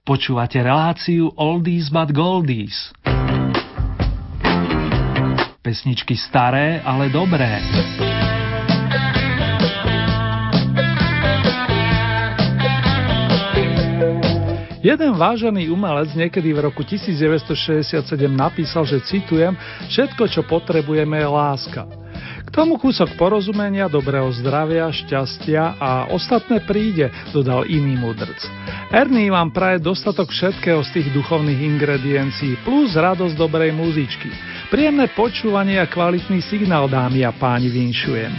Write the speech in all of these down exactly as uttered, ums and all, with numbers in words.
Počúvate reláciu Oldies but Goldies. Pesničky staré, ale dobré. Jeden vážený umelec niekedy v roku devätnásťstošesťdesiatsedem napísal, že citujem, všetko, čo potrebujeme, je láska. K tomu kúsok porozumenia, dobrého zdravia, šťastia a ostatné príde, dodal iný mudrc. Ernie vám praje dostatok všetkého z tých duchovných ingrediencií plus radosť dobrej muzičky. Príjemné počúvanie a kvalitný signál, dámy a páni, vinšujem.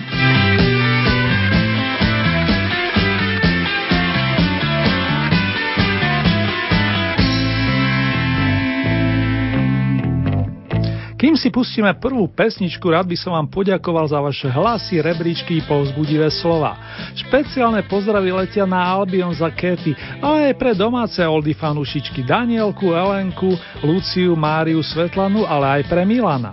Kým si pustíme prvú pesničku, rád by som vám poďakoval za vaše hlasy, rebríčky i povzbudivé slova. Špeciálne pozdravy letia na Albion za Katy, ale aj pre domáce oldy fanúšičky Danielku, Elenku, Luciu, Máriu, Svetlanu, ale aj pre Milana.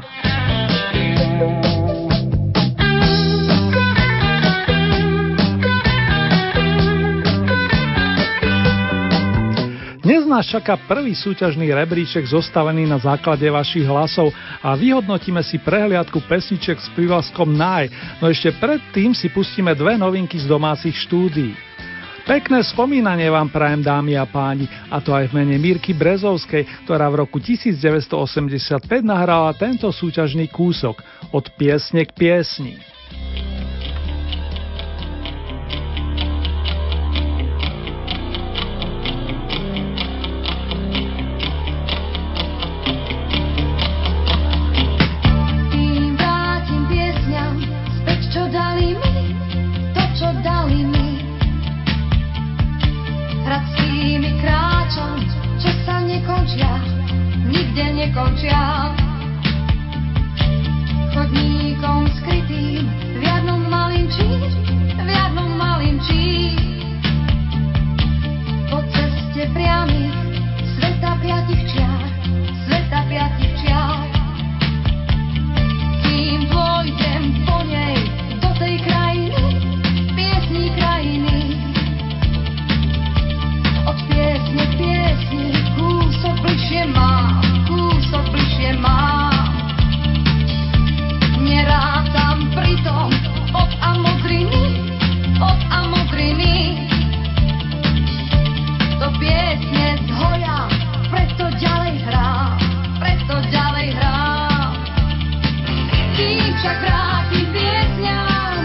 Dnes nás čaká prvý súťažný rebríček zostavený na základe vašich hlasov a vyhodnotíme si prehliadku pesniček s prívlaskom Naj, no ešte predtým si pustíme dve novinky z domácich štúdií. Pekné spomínanie vám prajem, dámy a páni, a to aj v mene Mirky Brezovskej, ktorá v roku devätnásťstoosemdesiatpäť nahrala tento súťažný kúsok Od piesne k piesni. Nekončia chodníkom skrytým v jadnom malinčí, v jadnom malinčí. Po ceste priamých sveta piatich čiar, sveta piatich čiar. Kým pôjdem po nej do tej krajiny, piesní krajiny. Od piesne k piesni kúsok bližšie mám, kúsok bližšie mám. Nerátam pritom od a modriny, od a modriny. Do piesne zhoja, preto ďalej hrám, preto ďalej hrám. Kým však vrátim piesňam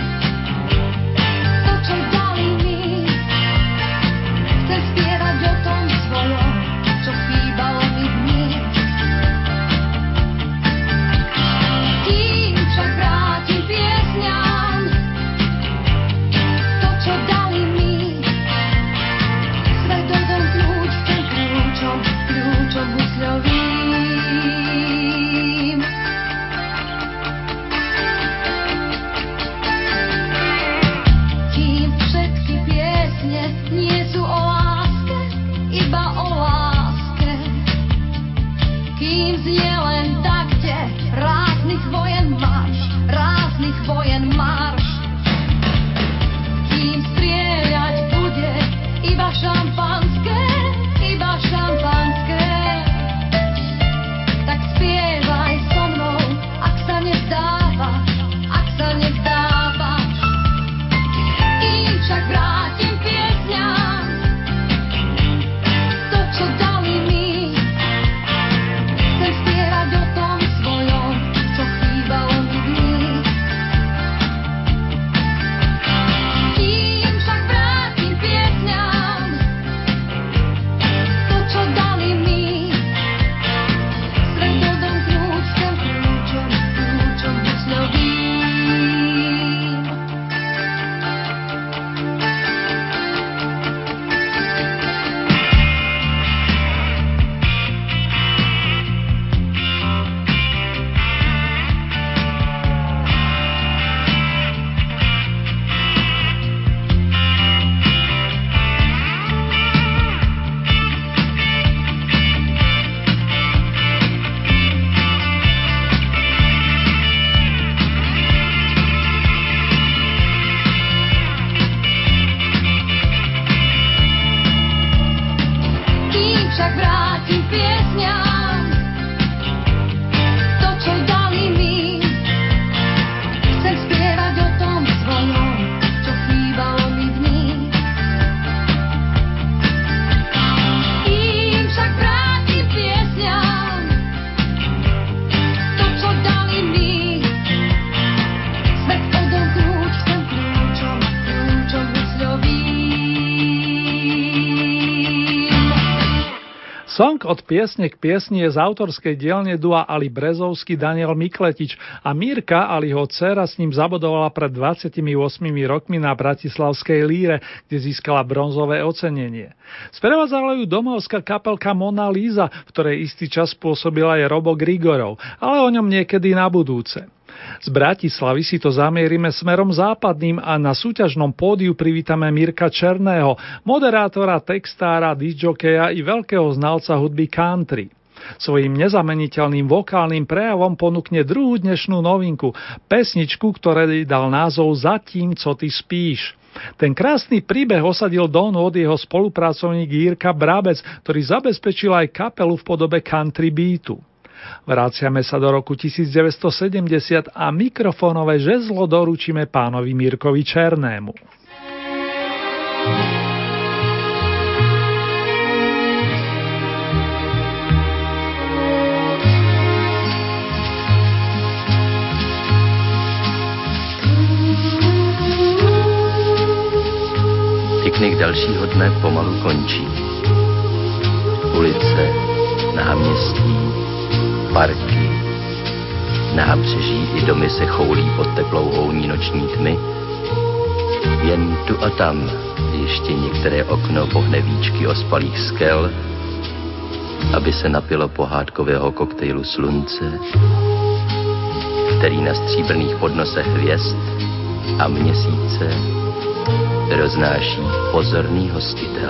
to, čo dali mi, chcem spievať o tom svojom, čo chýbalo mi dní. Kým však vrátim piesňam to, čo dali mi, svet odomknúť chcem kľúčom, kľúčom husľovým. Kým všetky piesne nie sú o láske, iba o láske. Kým znie len takte ráznych vojen marš, ráznych vojen marš. Kým strieľať bude iba šampanské, iba šampanské. Tak spievaj so mnou, ak sa nevzdávaš, ak sa nevzdávaš. Kým však vrátim piesňam to, čo dali mi, chcem spievať o však vrátim piesňam to, čo dali mi. Chcem spievať o tom svojom, čo chýbalo mi v nich. Im však vrátim piesňam to, čo dali mi. Svet odomknúť chcem kľúčom, kľúčom husľovým. Song Od piesne k piesni je z autorskej dielne dua Ali Brezovský, Daniel Mikletič a Mírka, Aliho dcéra, s ním zabodovala pred dvadsiatimi ôsmimi rokmi na bratislavskej Líre, kde získala bronzové ocenenie. Sprevádzala ju domovská kapelka Mona Lisa, v ktorej istý čas pôsobila aj Robo Grigorov, ale o ňom niekedy na budúce. Z Bratislavy si to zamierime smerom západným a na súťažnom pódiu privítame Mirka Černého, moderátora, textára, disjokeja i veľkého znalca hudby country. Svojím nezameniteľným vokálnym prejavom ponúkne druhú dnešnú novinku, pesničku, ktorej dal názov Zatím, co ty spíš. Ten krásny príbeh osadil do nôd jeho spolupracovník Jirka Brabec, ktorý zabezpečil aj kapelu v podobe country beatu. Vraciame sa do roku devätnásťsedemdesiat a mikrofónové žezlo doručíme pánovi Mirkovi Černému. Piknik dalšího dne pomalu končí. Ulice, náměstí, parky, nábřeží i domy se choulí pod teplou houní noční tmy. Jen tu a tam ještě některé okno pohne víčky ospalých skel, aby se napilo pohádkového koktejlu slunce, který na stříbrných podnosech hvězd a měsíce roznáší pozorný hostitel.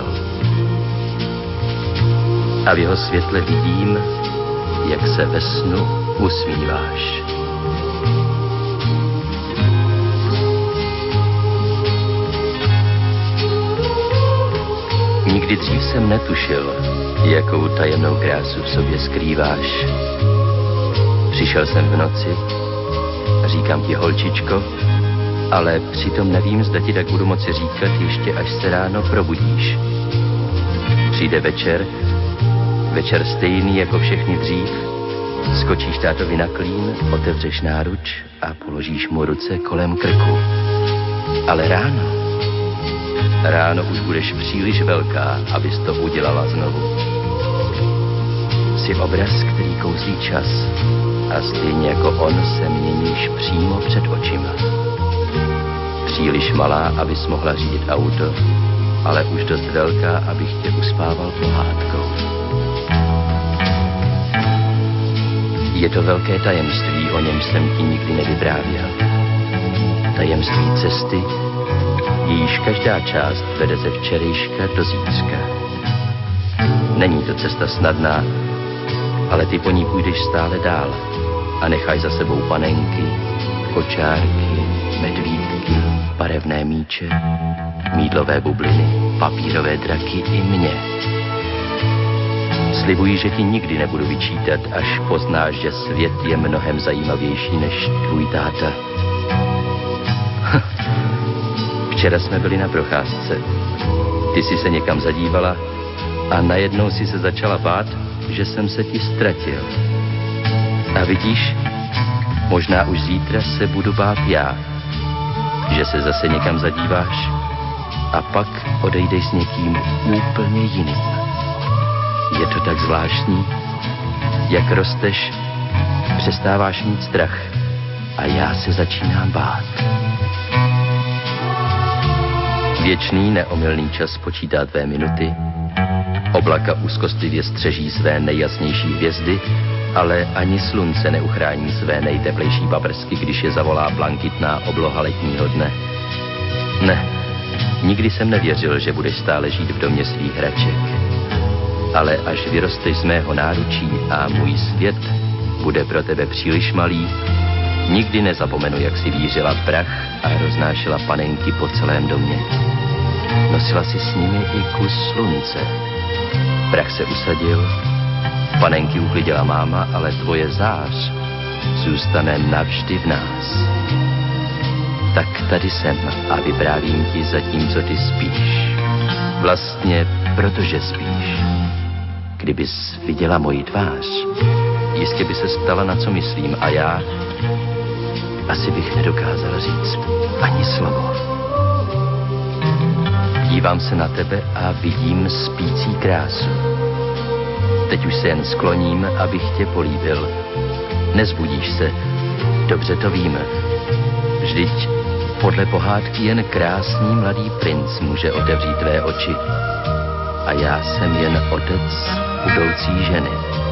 A v jeho světle vidím, jak se ve snu usmíváš. Nikdy dřív jsem netušil, jakou tajemnou krásu v sobě skrýváš. Přišel jsem v noci a říkám ti, holčičko, ale přitom nevím, zda ti tak budu moci říkat ještě, až se ráno probudíš. Přijde večer, večer stejný jako všechny dřív, skočíš tátovi na klín, otevřeš náruč a položíš mu ruce kolem krku. Ale ráno, ráno už budeš příliš velká, abys to udělala znovu. Jsi obraz, který kouzlí čas a stejně jako on se měníš přímo před očima. Příliš malá, abys mohla řídit auto, ale už dost velká, abych tě uspával pohádkou. Je to velké tajemství, o něm jsem ti nikdy nevyprávěl. Tajemství cesty, jejíž každá část vede ze včerejška do zítřka. Není to cesta snadná, ale ty po ní půjdeš stále dál a nechaj za sebou panenky, kočárky, medvídky, barevné míče, mýdlové bubliny, papírové draky i mě. Slibuji, že ti nikdy nebudu vyčítat, až poznáš, že svět je mnohem zajímavější než tvůj táta. Včera jsme byli na procházce. Ty jsi se někam zadívala a najednou si se začala bát, že jsem se ti ztratil. A vidíš, možná už zítra se budu bát já, že se zase někam zadíváš a pak odejdeš s někým úplně jiným. Je to tak zvláštní, jak rosteš, přestáváš mít strach a já se začínám bát. Věčný neomylný čas počítá tvé minuty, oblaka úzkostlivě střeží své nejjasnější hvězdy, ale ani slunce neuchrání své nejteplejší paprsky, když je zavolá blankitná obloha letního dne. Ne, nikdy jsem nevěřil, že budeš stále žít v domě svých hraček. Ale až vyrosteš z mého náručí a můj svět bude pro tebe příliš malý, nikdy nezapomenu, jak si vířila prach a roznášela panenky po celém domě. Nosila si s nimi i kus slunce, Prach se usadil, panenky uklidila máma, ale tvoje zář zůstane navždy v nás. Tak tady jsem a vyprávím ti zatímco ty spíš. Vlastně protože spíš. Kdybys viděla moji tvář, jistě by se stala, na co myslím, a já asi bych nedokázala říct ani slovo. Dívám se na tebe a vidím spící krásu. Teď už se jen skloním, abych tě políbil. Nezbudíš se, dobře to vím. Vždyť podle pohádky jen krásný mladý princ může otevřít tvé oči. A já jsem jen otec budoucí ženy.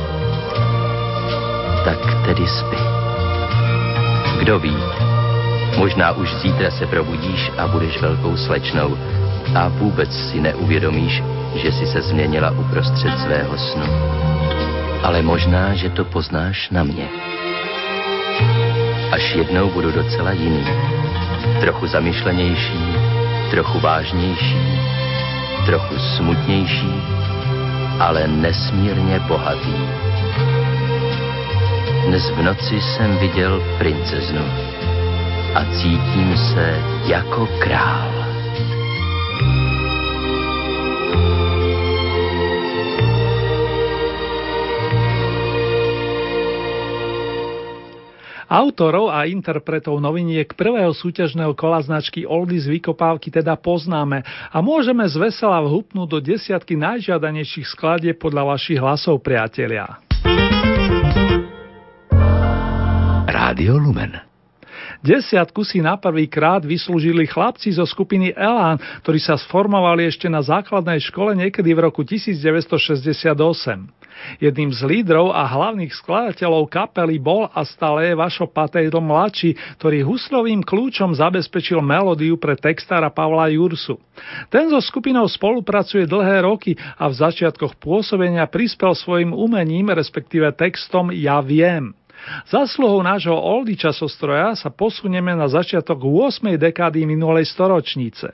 Tak tedy spí. Kdo ví, možná už zítra se probudíš a budeš velkou slečnou a vůbec si neuvědomíš, že jsi se změnila uprostřed svého snu. Ale možná, že to poznáš na mě. Až jednou budu docela jiný. Trochu zamyšlenější, trochu vážnější, trochu smutnější, ale nesmírně bohatý. Dnes v noci jsem viděl princeznu a cítím se jako král. Autorov a interpretov noviniek prvého súťažného kola značky Oldies Vykopávky teda poznáme a môžeme zvesela vhupnúť do desiatky najžiadanejších skladieb podľa vašich hlasov, priatelia. Rádio Lumen. Desiatku si na prvý krát vyslúžili chlapci zo skupiny Elán, ktorí sa sformovali ešte na základnej škole niekedy v roku devätnásťstošesťdesiatosem. Jedným z lídrov a hlavných skladateľov kapely bol a stále je Vašo Patejdl mladší, ktorý huslovým kľúčom zabezpečil melódiu pre textára Pavla Jursu. Ten so skupinou spolupracuje dlhé roky a v začiatkoch pôsobenia prispel svojim umením, respektíve textom Ja viem. Zásluhou nášho oldy časostroja sa posunieme na začiatok ôsmej dekády minulej storočnice.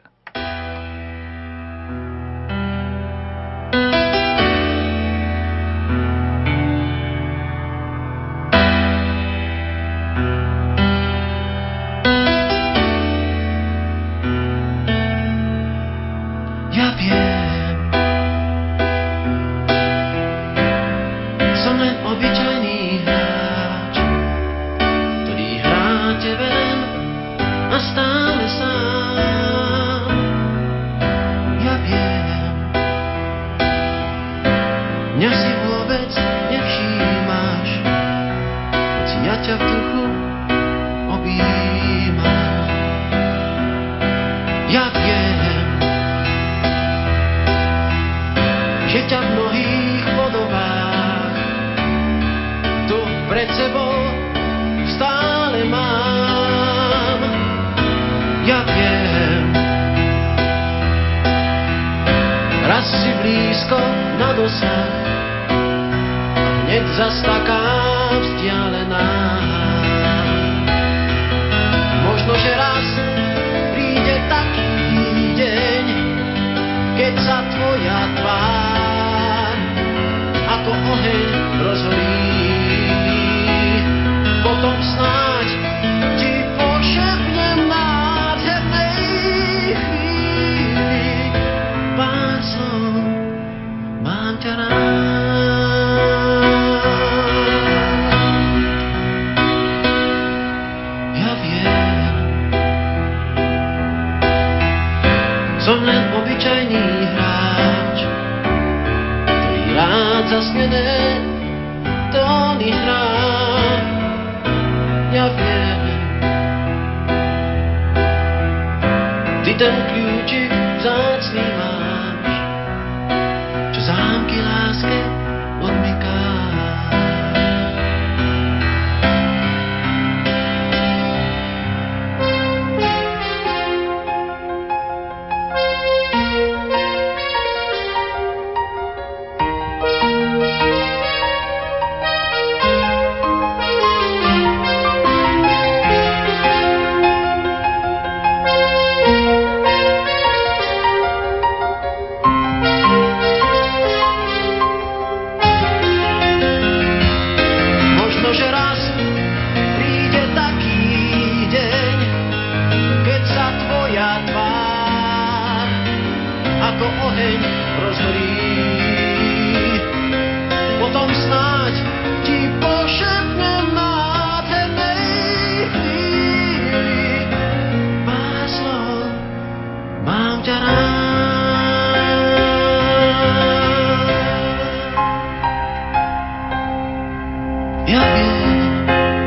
Ja viem,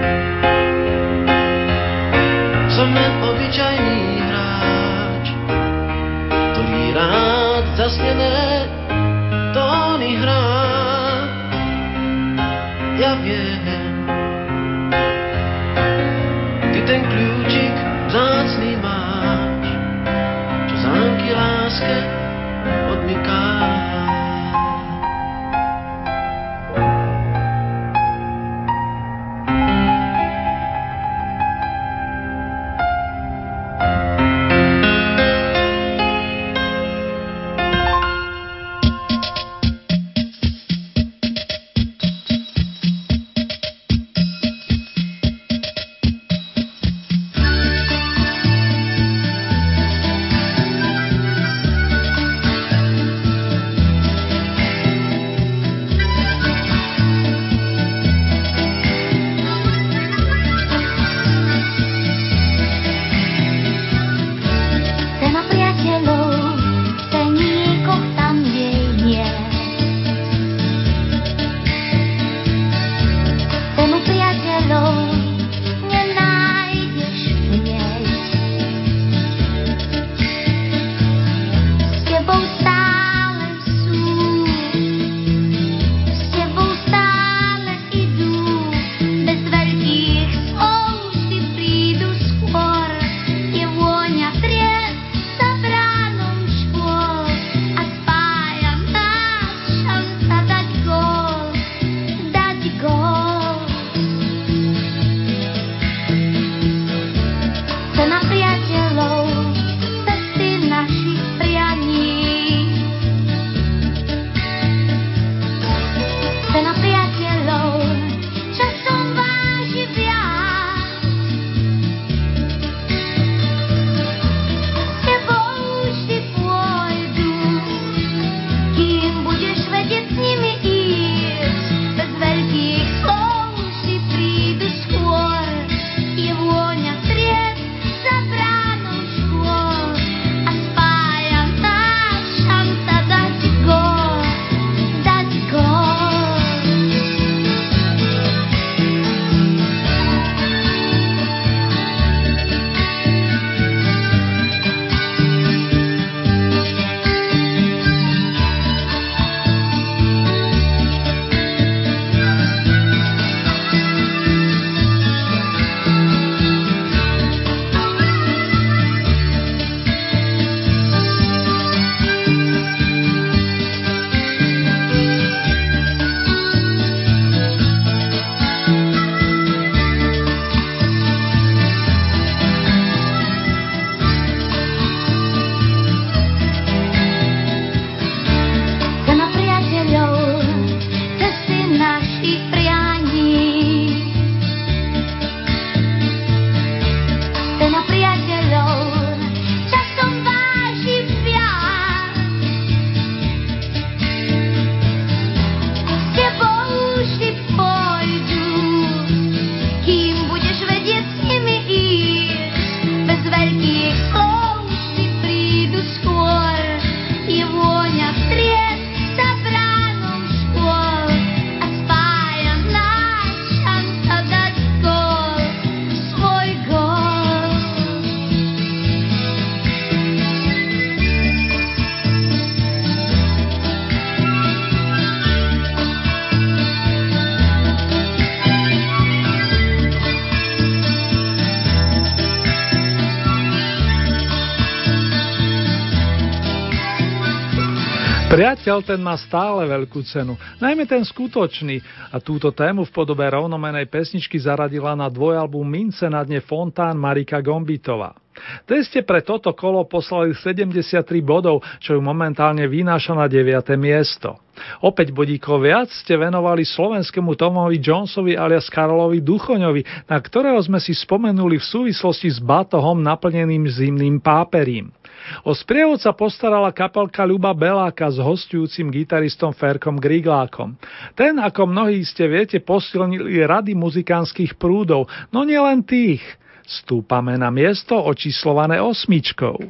som len obyčajný hráč, ktorý rád zasnené tóny hrá. Ja viem, ty ten kľúčik vzácny máš, čo zámky láske odmyká. Priateľ, ten má stále veľkú cenu, najmä ten skutočný, a túto tému v podobe rovnomenej pesničky zaradila na dvojalbum Mince na dne Fontán Marika Gombitová. Tej ste pre toto kolo poslali sedemdesiattri bodov, čo ju momentálne vynáša na deviate miesto. Opäť bodíkov viac ste venovali slovenskému Tomovi Jonesovi alias Karolovi Duchoňovi, na ktorého sme si spomenuli v súvislosti s batohom naplneným zimným páperím. O sprievodca postarala kapelka Ľuba Beláka s hosťujúcim gitaristom Ferkom Griglákom. Ten, ako mnohí ste viete, posilnili rady muzikánskych prúdov, no nielen tých. Stúpame na miesto očíslované osmičkou.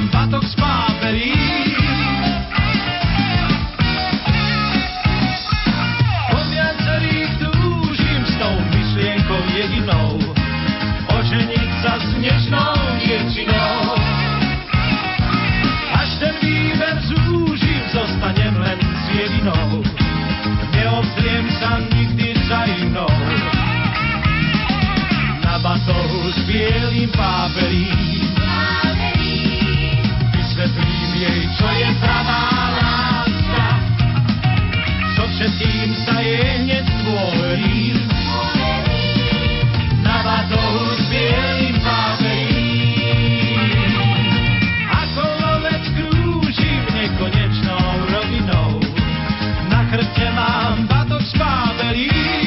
mám batok z páperí. Po viacerých túžim s tou myšlienkou jedinou oženiť sa s nežnou dievčinou. Až ten výber zúžim, zostanem len s jedinou. Neobzriem sa nikdy za inou. Na batohu s bielým páperím vysvetlím jej, čo je pravá láska. So všetkým sa jej hneď dôverím. Na batohu s bielým páperím ako lovec krúžim nekonečnou rovinou. Na chrbte mám batok z páperí.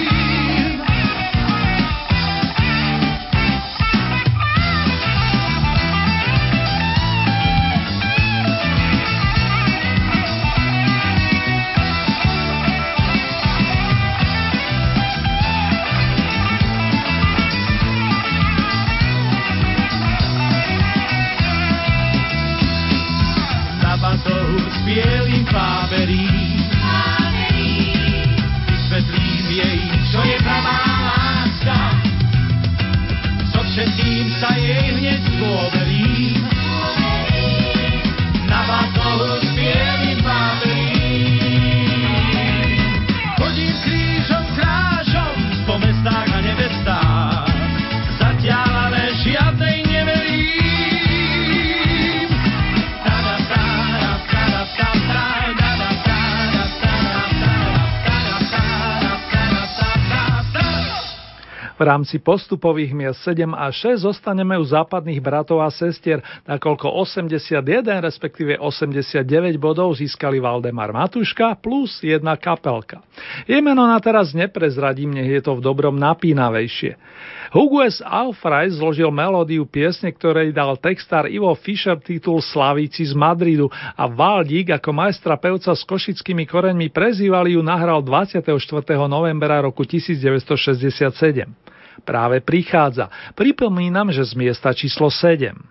Na batohu s bielým páperím vysvetlím jej, čo je pravá láska. So všetkým sa jej hneď dôverím. Na batohu s bielým páperím chodím krížom krážom po mestách a nevestách. Zatiaľ ale žiadnej neverím. V rámci postupových miest sedem a šesť zostaneme u západných bratov a sestier, nakoľko osemdesiatjeden, respektíve osemdesiatdeväť bodov získali Valdemar Matuška plus jedna kapelka. Jej meno na teraz neprezradím, nech je to v dobrom napínavejšie. Hugues Aufreiz zložil melódiu piesne, ktorej dal textár Ivo Fischer titul Slavíci z Madridu a Valdík ako majstra pevca s košickými koreňmi prezývali ju nahral dvadsiateho štvrtého novembra roku devätnásťstošesťdesiatsedem. Práve prichádza. Pripomínam, že z miesta číslo sedem.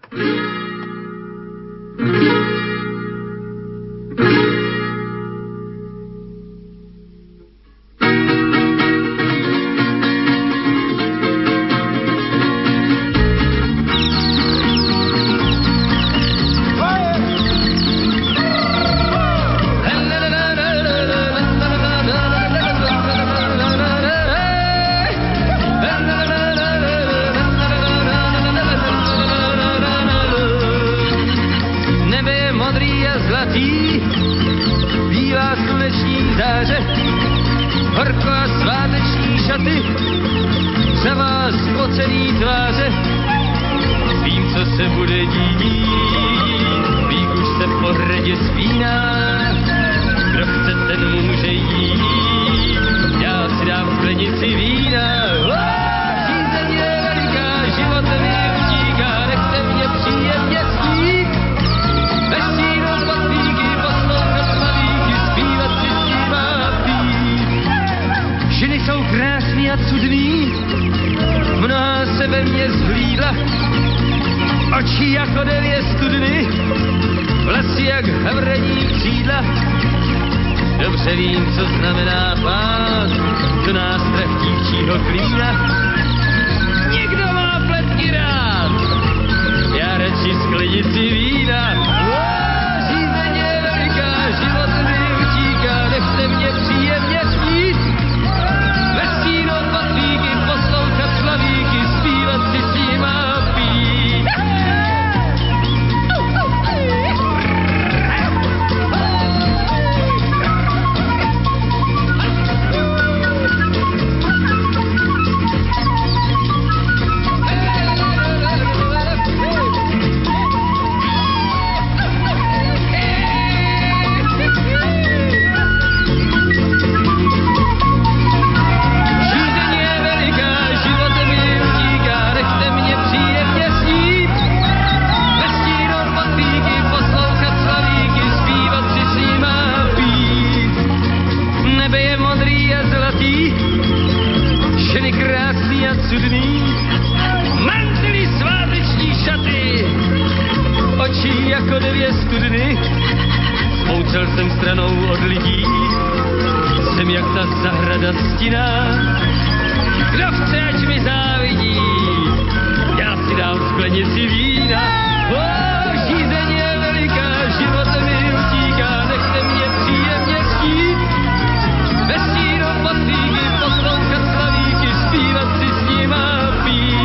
dvě studny, smoucel jsem stranou od lidí, jsem jak ta zahrada stinná, kdo chce, ať mi závidí, já si dám sklenici vína, o, žízeň je veliká, život mi utíká, nechte mě příjemně chtít, bez stínu poslíky, poslouchat slavíky, zpívat si s nima pít.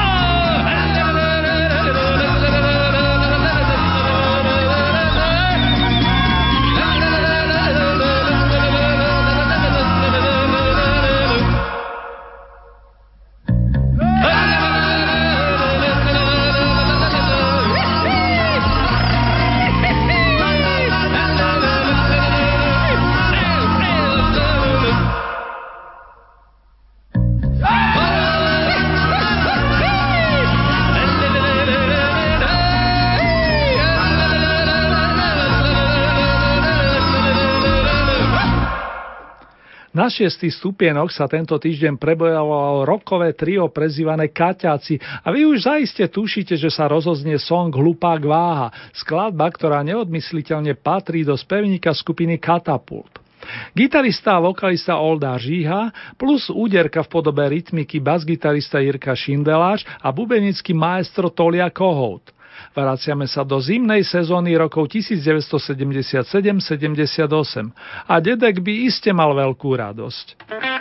Na šiestý stupienok sa tento týždeň prebojalo rockové trio prezývané Kaťáci a vy už zaiste tušíte, že sa rozoznie song Hlupák váha, skladba, ktorá neodmysliteľne patrí do spevníka skupiny Katapult. Gitarista a vokalista Olda Žíha plus úderka v podobe rytmiky basgitarista Jirka Šindeláš a bubenický maestro Tolia Kohout. Vraciame sa do zimnej sezóny rokov devätnásťsedemdesiatsedem sedemdesiatosem a dedek by iste mal veľkú radosť.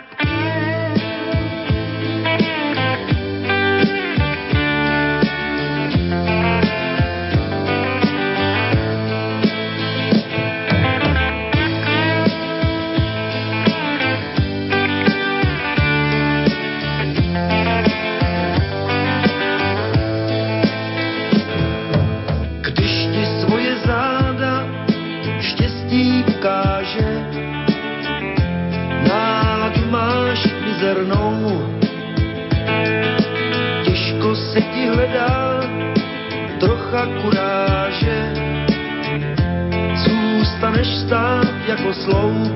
Těžko se ti hledá trocha kuráže, zůstaneš stát jako sloup.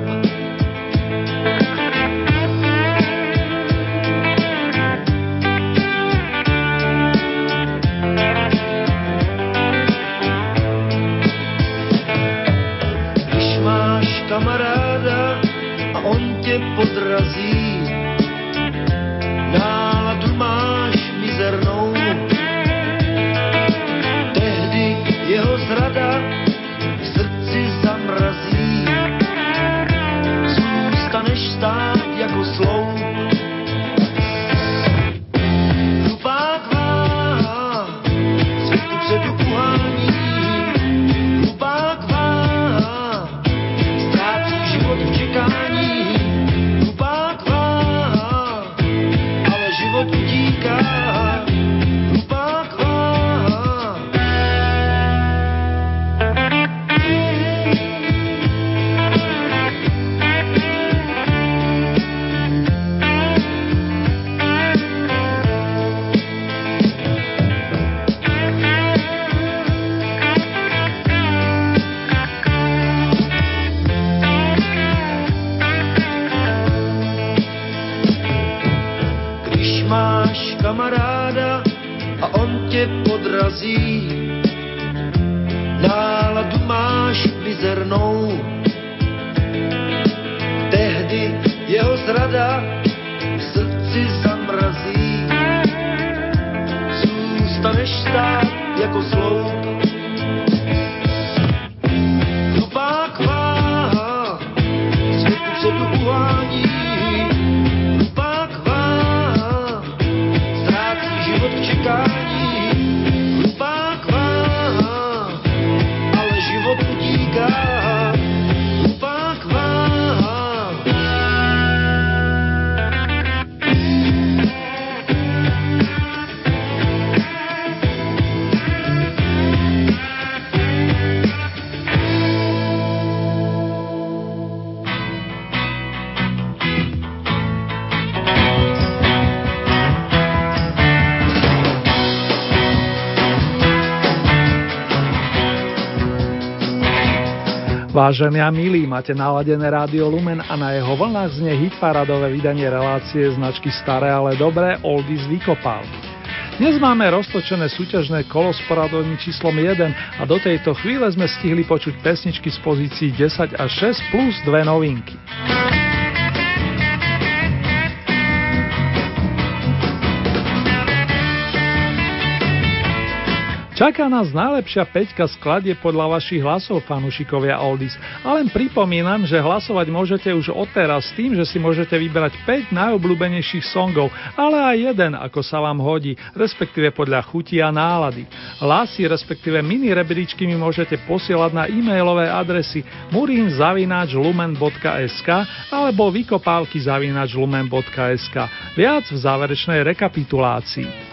Když máš kamaráda a on tě podrazí, náladu máš mizernou, tehdy jeho zrada v srdci zamrazí, zůstaneš stát jako sloup. Hlupák váha, světu předu uhání, hlupák váha, ztrácí život v čekání. Kamaráda a on tě podrazí, náladu máš mizernou, tehdy jeho zrada v srdci zamrazí, zůstaneš stát jako sloup. Hlupák váha, světu předu uhání, hlupák váha, ale život utíká. Hlupák váha. Vážení a milí, máte naladené Rádio Lumen a na jeho vlnách znie hitparádové vydanie relácie značky Staré, ale dobré Oldies vykopávky. Dnes máme roztočené súťažné kolo s poradovým číslom jeden a do tejto chvíle sme stihli počuť pesničky z pozícií desať a šesť plus dve novinky. Čaká nás najlepšia päťka skladie podľa vašich hlasov, fanúšikovia Oldies. A len pripomínam, že hlasovať môžete už odteraz s tým, že si môžete vybrať päť najobľúbenejších songov, ale aj jeden, ako sa vám hodí, respektíve podľa chuti a nálady. Hlasy, respektíve mini rebríčky mi môžete posielať na e-mailové adresy murin zavináč lumen bodka es ká alebo vykopávky zavináč lumen bodka es ká. Viac v záverečnej rekapitulácii.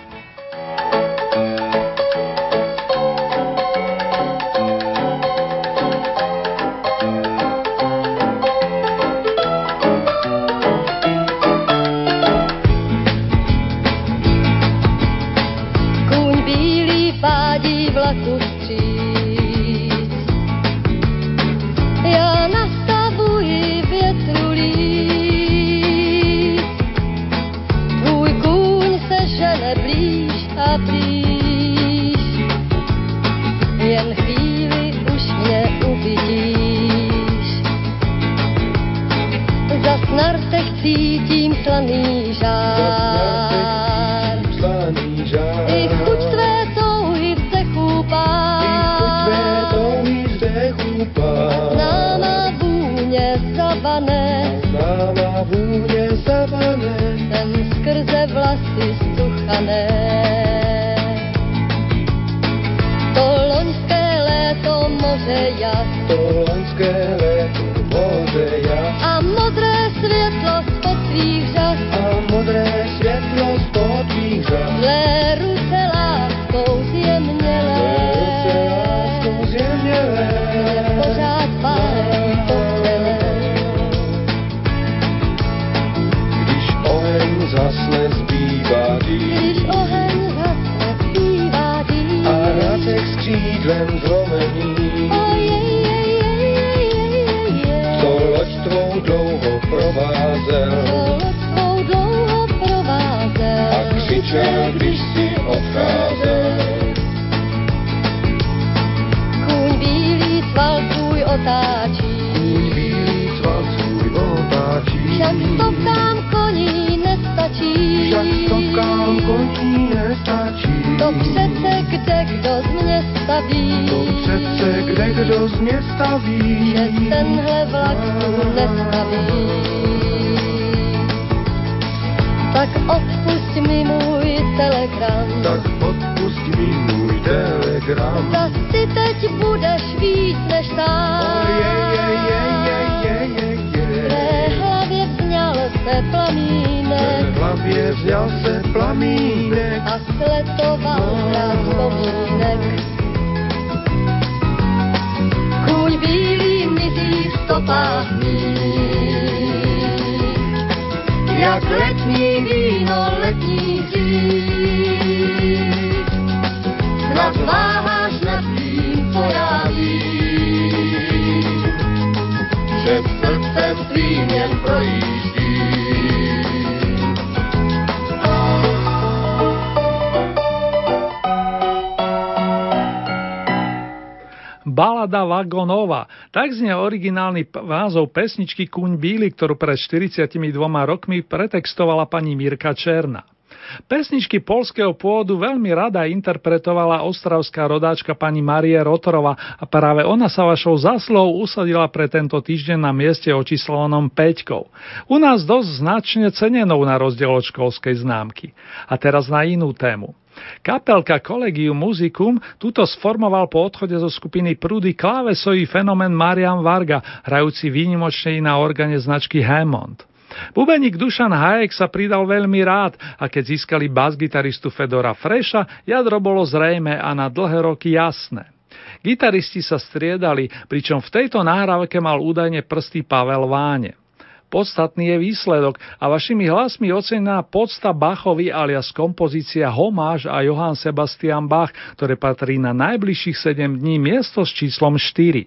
Balada Vagonova. Tak znie originálny názov pesničky Kuň bíly, ktorú pred štyridsiatimi dvoma rokmi pretextovala pani Mirka Černá. Pesničky poľského pôvodu veľmi rada interpretovala ostravská rodáčka pani Marie Rotorová a práve ona sa vašou zásluhou usadila pre tento týždeň na mieste očíslovanom päťkou. U nás dosť značne cenenou na rozdiel od školskej známky. A teraz na inú tému. Kapelka Collegium Musicum tuto sformoval po odchode zo skupiny Prudy klávesový fenomén Marian Varga, hrajúci výnimočne na organe značky Hammond. Bubeník Dušan Hajek sa pridal veľmi rád a keď získali bas-gitaristu Fedora Freša, jadro bolo zrejmé a na dlhé roky jasné. Gitaristi sa striedali, pričom v tejto nahrávke mal údajne prsty Pavel Váne. Podstatný je výsledok a vašimi hlasmi ocenená podsta Bachovi alias kompozícia Homáž a Johann Sebastian Bach, ktoré patrí na najbližších sedem dní miesto s číslom štyri.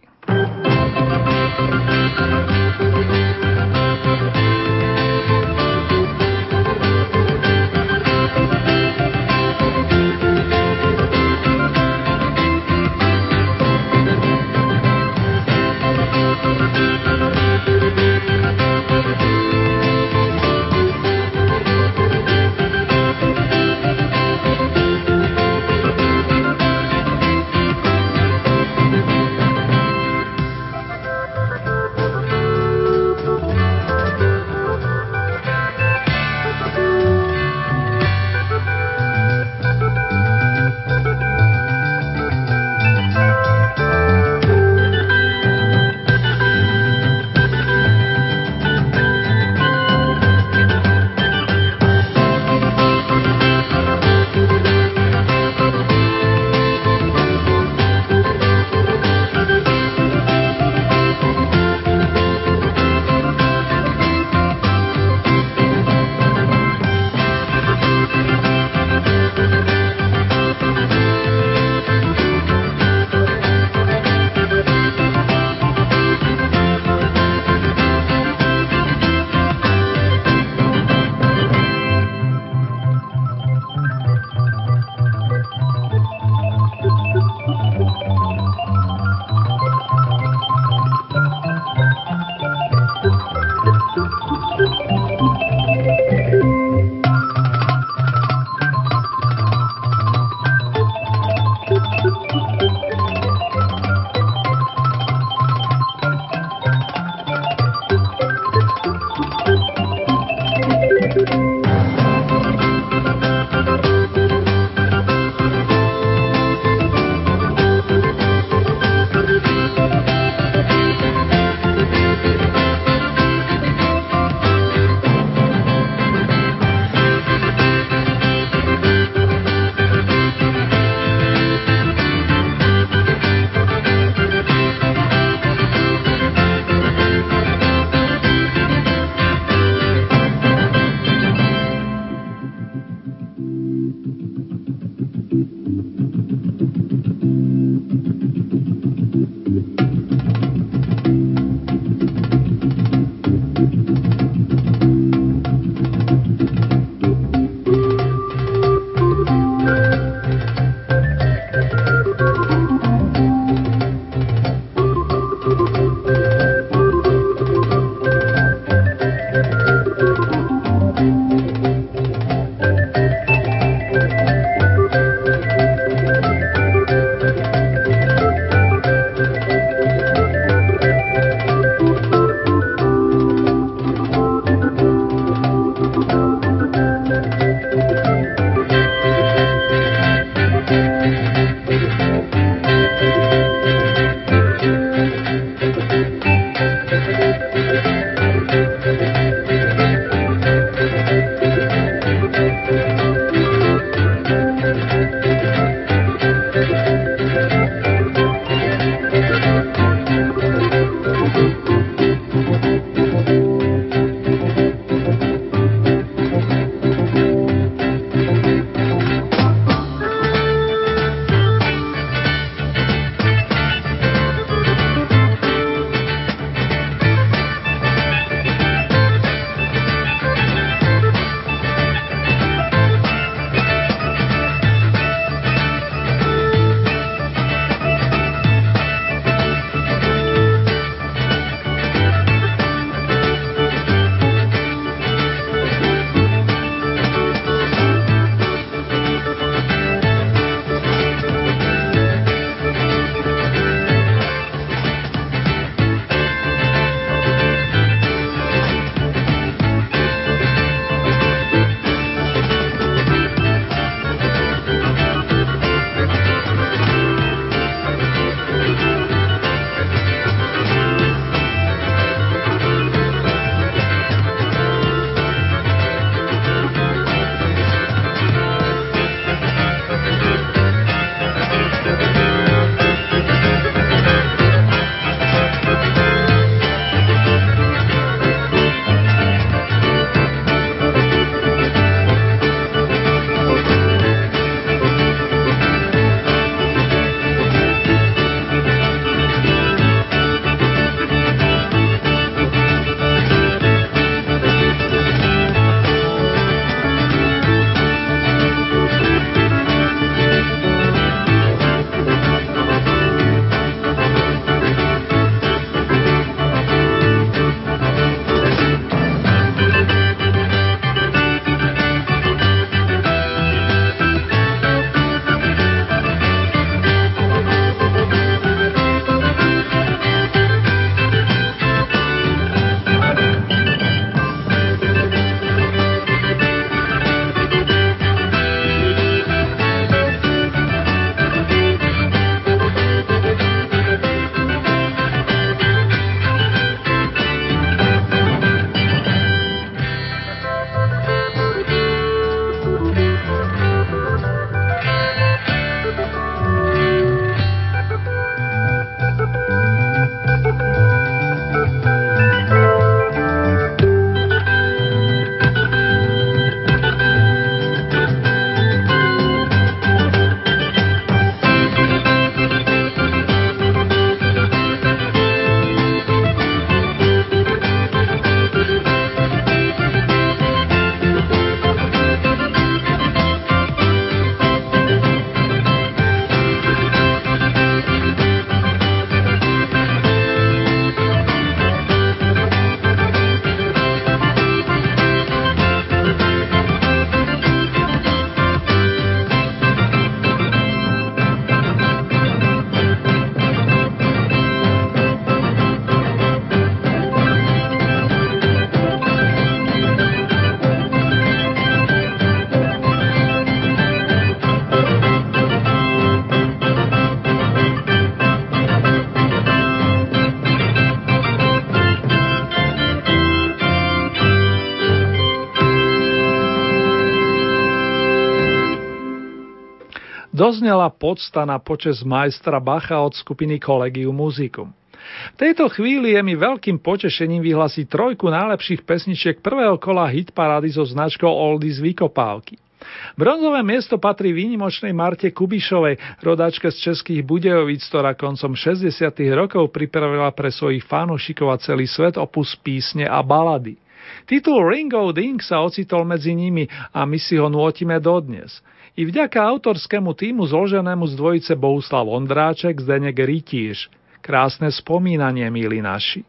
zoznela pocta na počesť majstra Bacha od skupiny Collegium Musicum. V tejto chvíli je mi veľkým potešením vyhlásiť trojku najlepších pesničiek prvého kola hitparády so značkou Oldies Vykopávky. Bronzové miesto patrí výnimočnej Marte Kubišovej, rodáčke z Českých Budějovic, ktorá koncom šesťdesiatych rokov pripravila pre svojich fanúšikov a celý svet opus písne a balady. Titul Ring o' Ding sa ocitol medzi nimi a my si ho nôtime dodnes. I vďaka autorskému týmu zloženému z dvojice Bohuslav Ondráček, Zdeněk Rytíř. Krásne spomínanie, milí naši.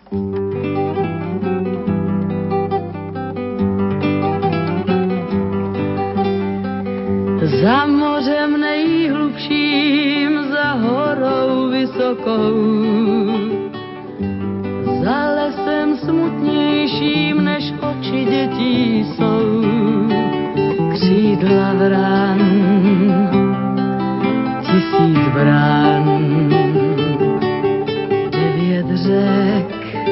Za mořem nejhlubším, za horou vysokou, za lesem smutnějším, než oči dětí jsou, křídla vran, tisíc brán, devět řek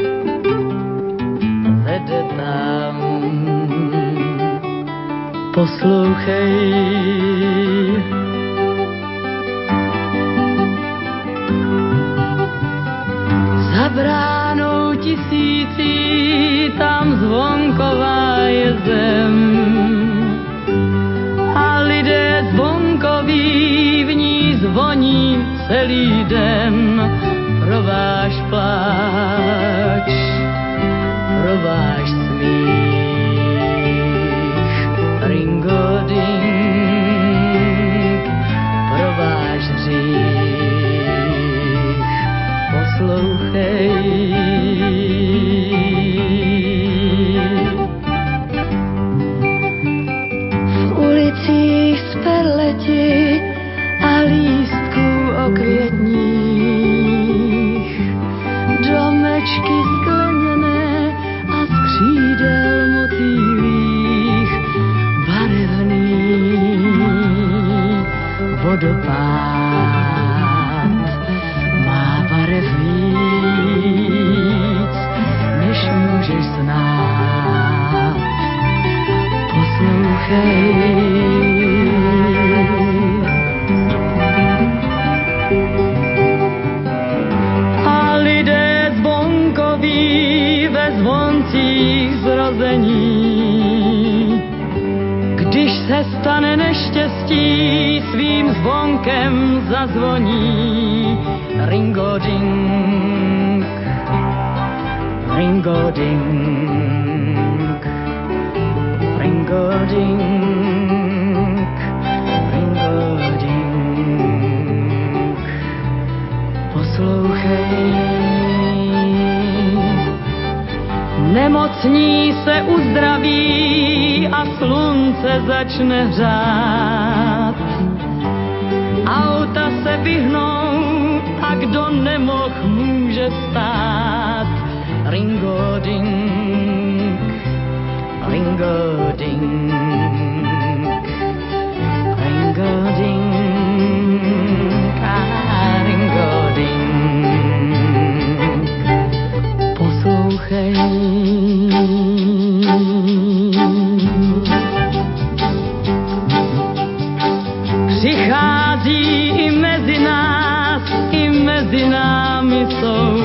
vede tam. Poslouchej, za bránou tisící, tam zvonková je zem a lidé zvonkoví v ní zvoní celý den pro váš pláč, pro váš smích. Ringo-ding, pro váš hřích, poslouchej. V ulicích z perleti a lístků okvětních, domečky skleněné a z křídel motýlích, vodopád má barev víc, než můžeš znát. Poslouchej. A lidé zvonkoví ve zvoncích zrození, když se stane neštěstí, svým zvonkem zazvoní. Ringo-ding, ringo-ding, ringo-ding, ringo-ding. Poslouchej. Nemocní se uzdraví a slunce začne hřát. Auta se vyhnou a kdo nemoh může stát. Ringo-ding, ringo-ding, ringo-ding, a ringo-ding. Poslouchej. Přichází i mezi nás, i mezi námi jsou.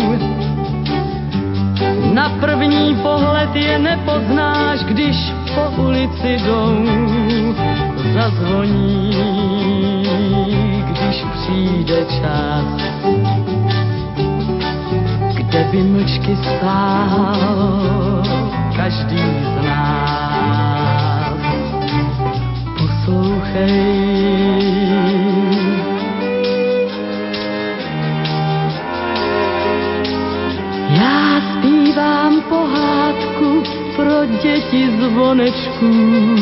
Na první pohled je nepoznáš, když po ulici jdou. Zazvoní, když přijde čas, kde by mlčky stál každý z nás. Poslouchej. Já zpívám pohádku pro děti zvonečků,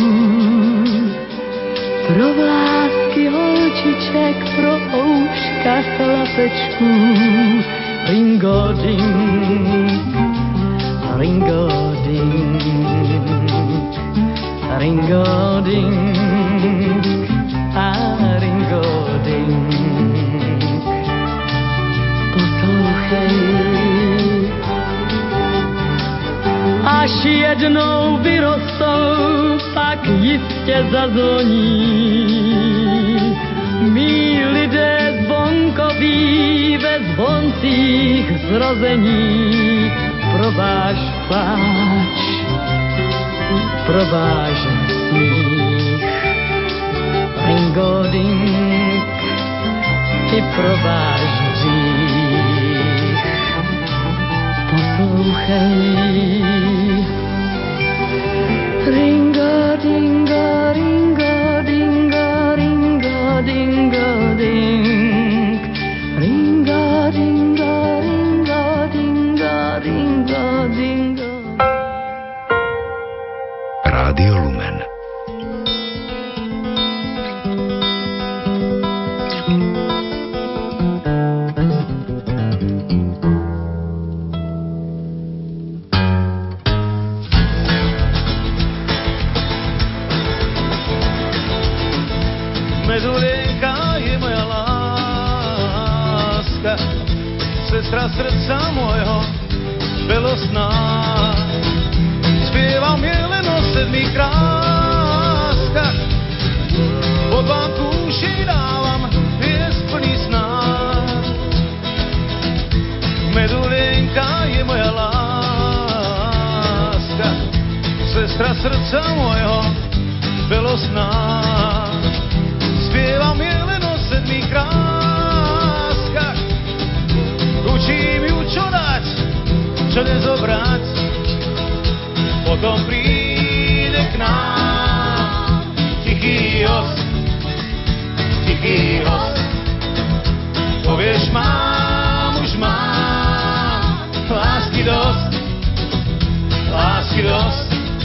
pro vlásky holčiček, pro ouška chlapečků. Ringo-ding, ringo-ding, ringo-ding, a ringo-ding. Poslouchej. Až jednou vyrostou, pak jistě zazvoní. koncích zrození pro váš pláč, pro váš smích. Ringoding i pro váš hřích. Poslouchej. Ringa, dinga, ringa, dinga, ringa, dinga, ding. Ringa, dinga, ringa, dinga, ringa, dinga. Rádio Lumen. Sestra srdca môjho belosná, spievam je len o sedmých kráskach, pod vám kúši dávam piesť plný sná. Medulienka je moja láska, sestra srdca môjho belosná, spievam je len o sedmých kráskach. Učím ju, čo dať, čo nezobrať, potom príde k nám tichý host, tichý host. Povieš, mám, už mám, lásky dosť, lásky dosť.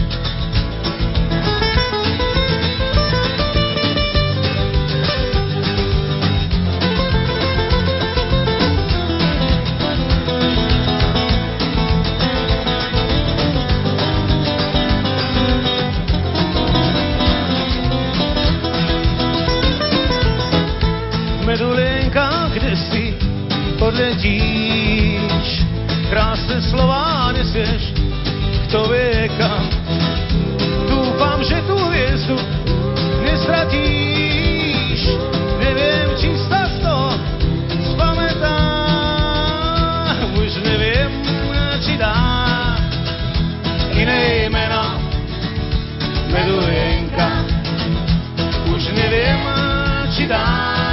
Medulienka, kde si odletíš, krásne slová nesieš, kto vie kam. Dúfam, že tú hviezdu nestratíš, neviem, či sa z toho spamätám, už neviem, či dá iné meno. Medulienka, už neviem, či dá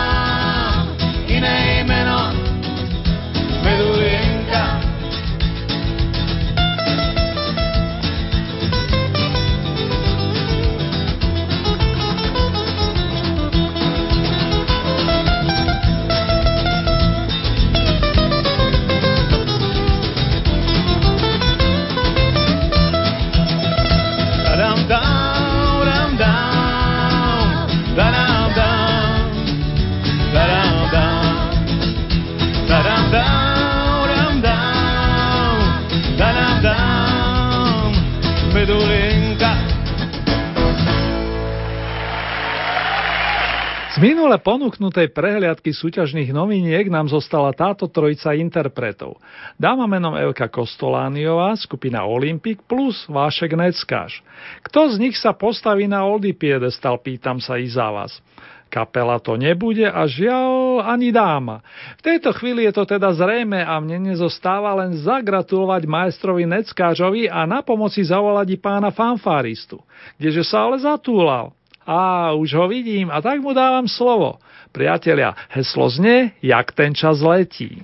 iné meno, Medulienka. Da-dam, down, dam, down, da-dam, down, da-dam, down. Da-dam, down, down, da-dam, down, Medulienka. Z minule ponúknutej prehliadky súťažných noviniek nám zostala táto trojica interpretov. Dáma menom Evka Kostolániová, skupina Olympik plus Vášek Neckáš. Kto z nich sa postaví na oldy piedestal, pýtam sa i za vás. Kapela to nebude a žiaľ ani dáma. V tejto chvíli je to teda zrejme a mne nezostáva len zagratulovať majstrovi Neckážovi a na pomoci zavolať i pána fanfáristu. Kdeže sa ale zatúlal? Á, už ho vidím a tak mu dávam slovo. Priatelia, heslo znie, jak ten čas letí.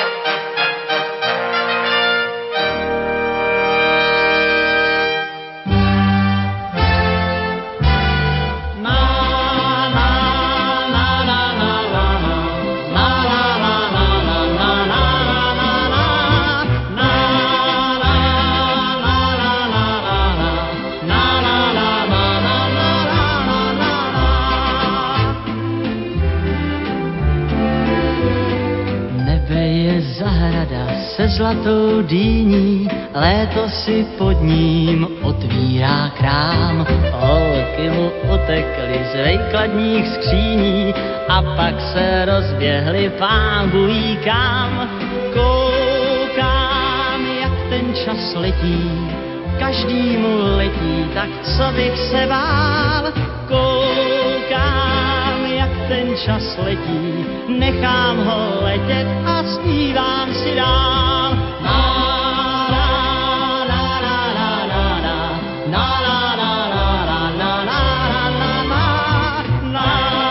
Se zlatou dýní, léto si pod ním otvírá krám. Holky mu utekly z vejkladních skříní a pak se rozběhly pán bují kam. Koukám, jak ten čas letí, každý mu letí, tak co bych se bál. Koukám, jak ten čas letí, nechám ho letět a zpívám si dál. Na, na, na, na, na, na, na, na, na, na, na, na, na, na, na, na,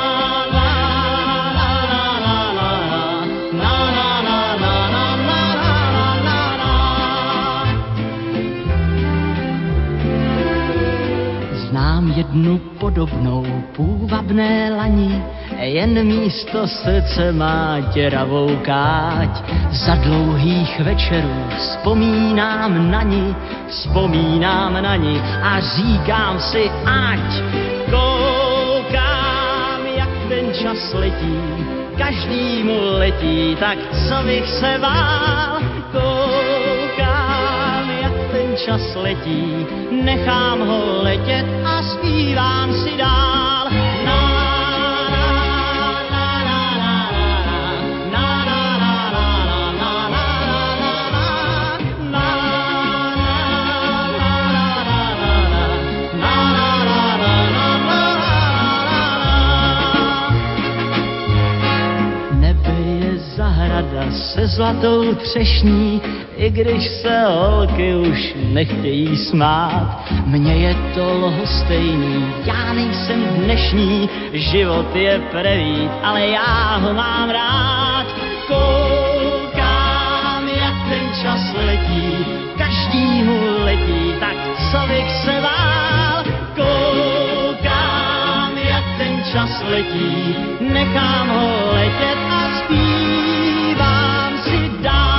znám jednu podobnou půvabné lani, jen místo srdce má děravou káť. Za dlouhých večerů vzpomínám na ní, vzpomínám na ní a říkám si ať. Koukám, jak ten čas letí, každýmu letí, tak co bych se bál. Koukám, jak ten čas letí, nechám ho letět a zpívám si dál. Se zlatou třešní, i když se holky už nechtějí smát. Mně je to lhostejný, já nejsem dnešní, život je prevít, ale já ho mám rád. Koukám, jak ten čas letí, každýmu letí, tak co bych se bál. Koukám, jak ten čas letí, nechám ho letět a zpívám si dál.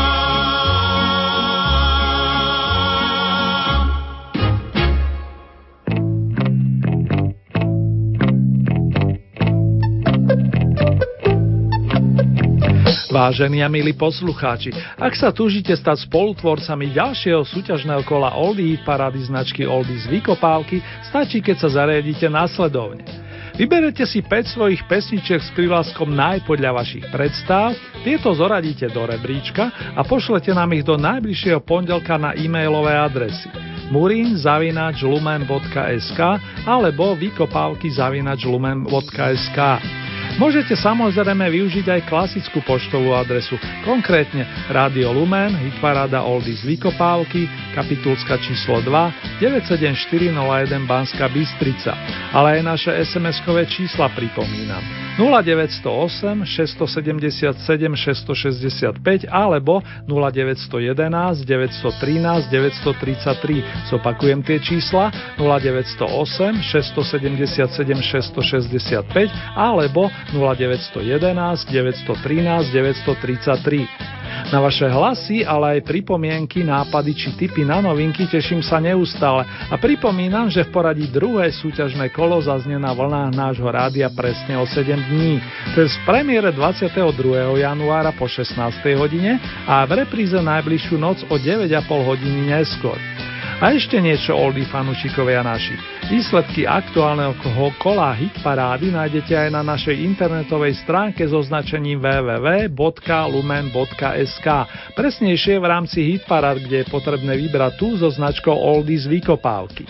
Vážení a milí poslucháči, ak sa túžite stať spolutvorcami ďalšieho súťažného kola Oldie parády značky Oldies Vykopávky, stačí, keď sa zariadíte následovne. Vyberete si päť svojich pesničiek s prívlaskom naj podľa vašich predstav, tieto zoradíte do rebríčka a pošlete nám ich do najbližšieho pondelka na e-mailové adresy murin zavináč lumen bodka es ká alebo vykopávky zavináč lumen bodka es ká. Môžete samozrejme využiť aj klasickú poštovú adresu, konkrétne Rádio Lumen, hitparáda Oldies Vykopávky, Kapitulska číslo dva, deväť sedem štyri nula jeden Banská Bystrica, ale aj naše es em eskové čísla pripomínam nula deväť nula osem šesť sedem sedem šesť šesť päť alebo nula deväť jeden jeden deväť jedna tri deväť tri tri. Zopakujem tie čísla nula deväť nula osem šesť sedem sedem šesť šesť päť alebo nula deväť jeden jeden deväť tri deväť tri tri. Na vaše hlasy, ale aj pripomienky, nápady či tipy na novinky teším sa neustále a pripomínam, že v poradí druhé súťažné kolo zaznie na vlnách nášho rádia presne o sedem dní. To je v premiére dvadsiateho druhého januára po šestnástej hodine a v repríze najbližšiu noc o deväť a pol hodiny neskôr. A ešte niečo, oldie fanúšikovia naši. Výsledky aktuálneho kola hitparády nájdete aj na našej internetovej stránke so značením w w w bodka lumen bodka es ká. Presnejšie v rámci hitparád, kde je potrebné vybrať tú so značkou Oldies Vykopávky.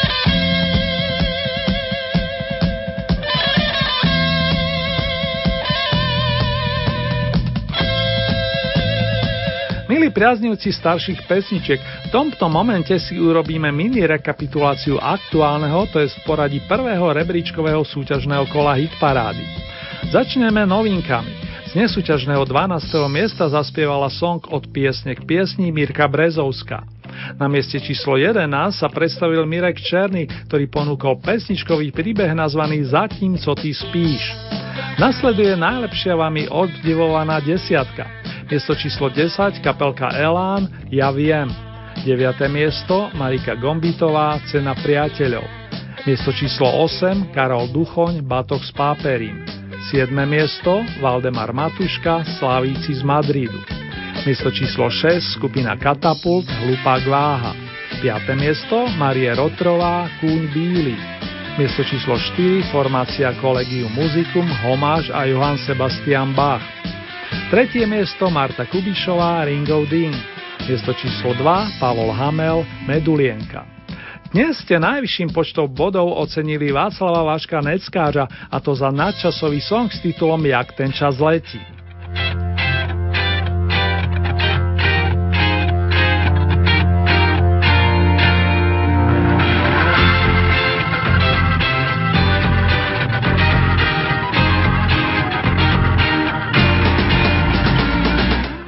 Milí priaznivci starších pesničiek, v tomto momente si urobíme mini rekapituláciu aktuálneho, to je v poradí prvého rebríčkového súťažného kola hitparády. Začneme novinkami. Z nesúťažného dvanásteho miesta zaspievala song Od piesne k piesni Mirka Brezovská. Na mieste číslo jedenásť sa predstavil Mirek Černý, ktorý ponúkol pesničkový príbeh nazvaný Zatím, co ty spíš. Nasleduje najlepšia vami obdivovaná desiatka. Miesto číslo desať, kapelka Elán, Ja viem. deviate miesto, Marika Gombitová, Cena priateľov. Miesto číslo osem, Karol Duchoň, Batok s páperím. siedme miesto, Valdemar Matuška, Slavíci z Madridu. Miesto číslo šesť, skupina Katapult, Hlupák váha. piate miesto, Marie Rotrová, Kúň bílý. Miesto číslo štyri, formácia Collegium Musicum, Homáš a Johann Sebastian Bach. Tretie miesto Marta Kubišová, Ringo Dean. Miesto číslo dva Pavol Hamel, Medulienka. Dnes ste najvyšším počtom bodov ocenili Václava Vaška Neckářa, a to za nadčasový song s titulom Jak ten čas letí.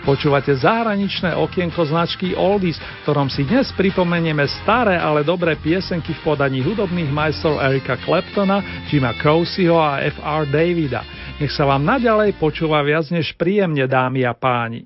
Počúvate zahraničné okienko značky Oldies, v ktorom si dnes pripomenieme staré, ale dobré piesenky v podaní hudobných majstrov Erika Claptona, Jima Croceho a ef er Davida. Nech sa vám naďalej počúva viac než príjemne, dámy a páni.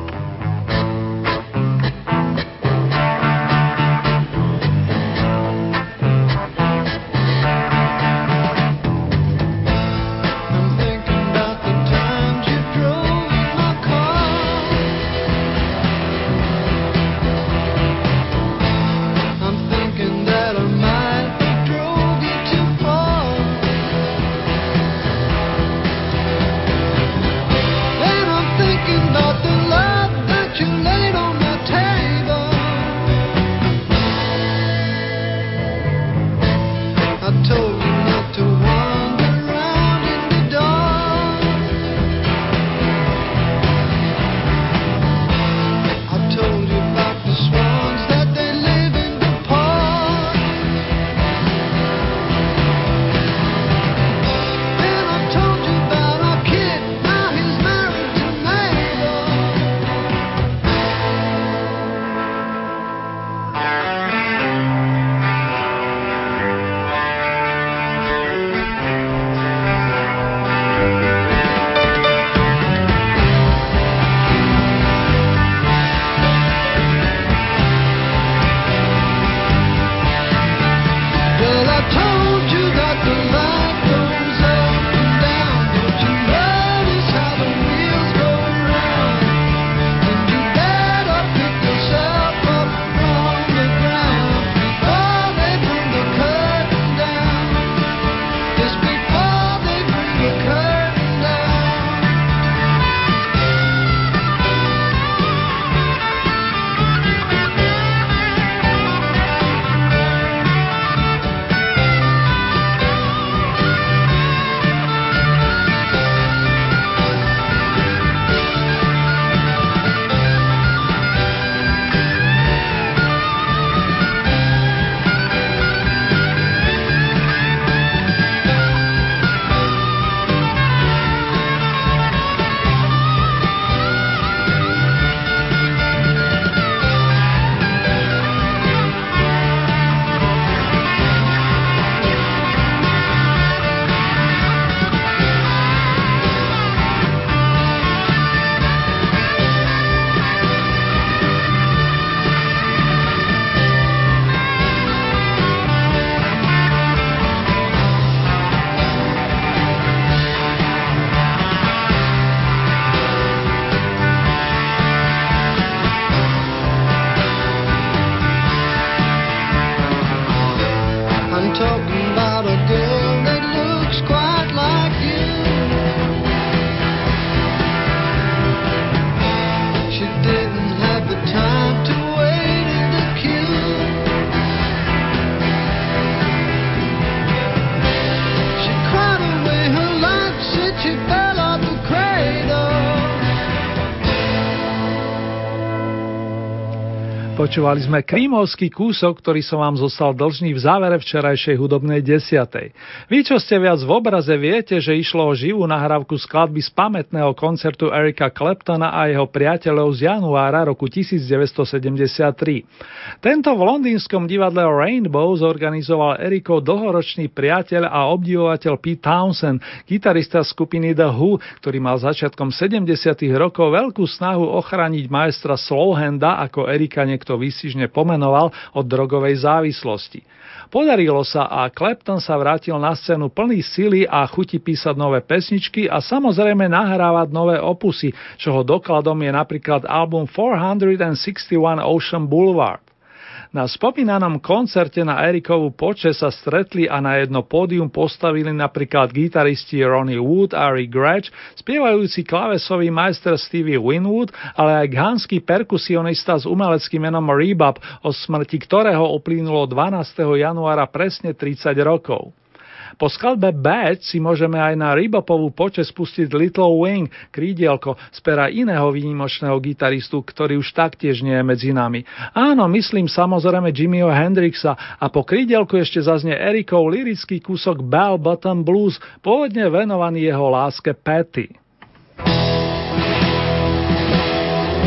Počúvali sme krímovský kúsok, ktorý som vám zostal dlžný v závere včerajšej hudobnej desiatej. Vy, čo ste viac v obraze, viete, že išlo o živú nahrávku skladby z pamätného koncertu Erika Claptona a jeho priateľov z januára roku devätnásťsedemdesiattri. Tento v londýnskom divadle Rainbow zorganizoval Erikov dlhoročný priateľ a obdivovateľ Pete Townshend, gitarista skupiny The Who, ktorý mal začiatkom sedemdesiatych rokov veľkú snahu ochrániť majstra Slowhanda, ako Erika niekto výstižne pomenoval, od drogovej závislosti. Podarilo sa a Clapton sa vrátil na scénu plný sily a chuti písať nové pesničky a samozrejme nahrávať nové opusy, čoho dokladom je napríklad album štyristošesťdesiatjeden Ocean Boulevard. Na spomínanom koncerte na Erikovú počesť sa stretli a na jedno pódium postavili napríklad gitaristi Ronnie Wood a Rick Gretsch, spievajúci klávesový majster Stevie Winwood, ale aj ghanský perkusionista s umeleckým menom Rebab, o smrti ktorého uplynulo dvanásteho januára presne tridsať rokov. Po skladbe Bad si môžeme aj na Rebapovú počesť pustiť Little Wing, krídielko, z pera iného výnimočného gitaristu, ktorý už taktiež nie je medzi nami. Áno, myslím samozrejme Jimmyho Hendrixa a po krídielku ešte zaznie Erikov lyrický kúsok Bell Bottom Blues, pôvodne venovaný jeho láske Patty.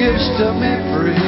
gives to me free.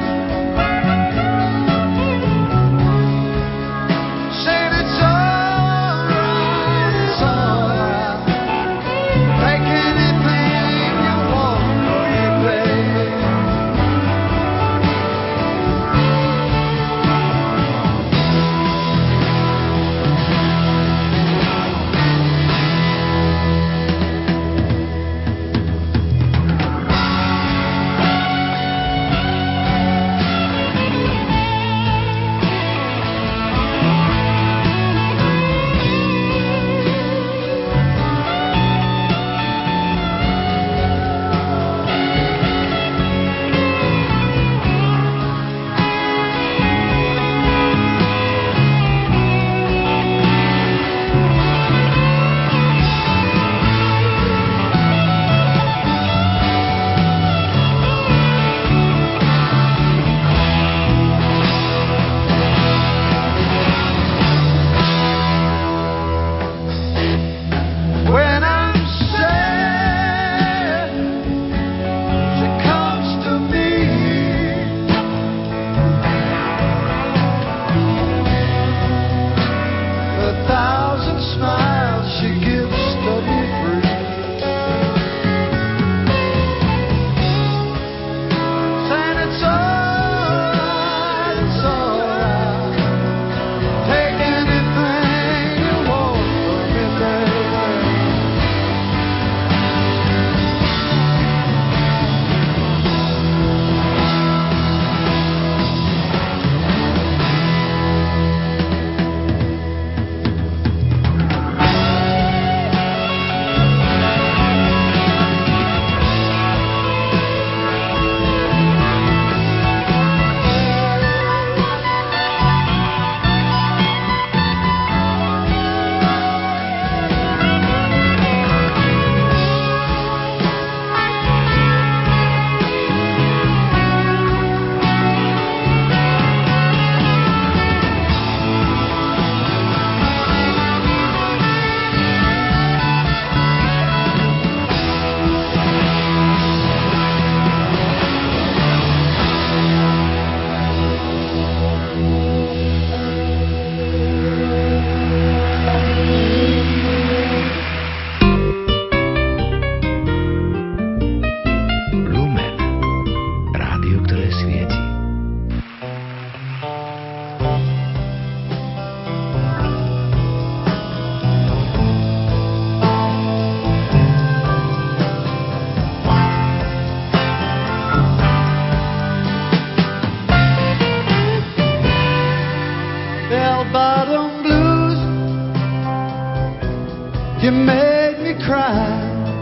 You made me cry,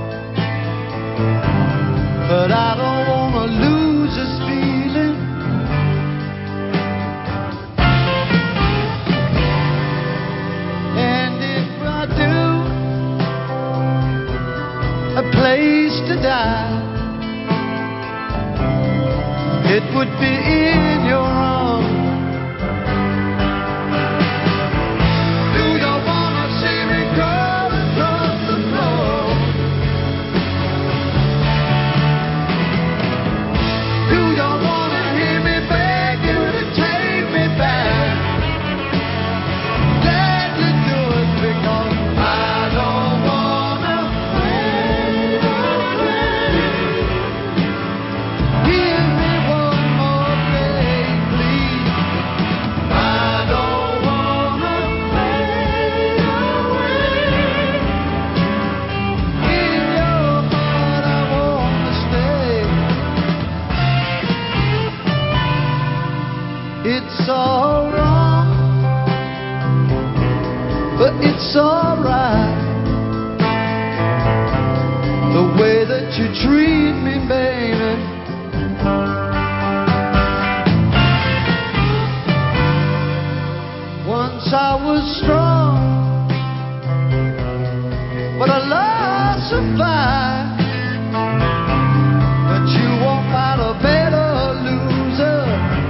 but I don't want to lose this feeling. And if I do, a place to die, it would be in your arms. It's all wrong, but it's all right. The way that you treat me, baby. Once I was strong, but I lost the fight. But you won't fight a better loser.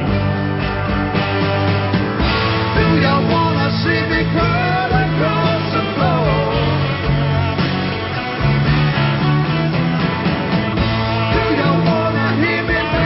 See me crawl across the floor. Do you wanna hear me?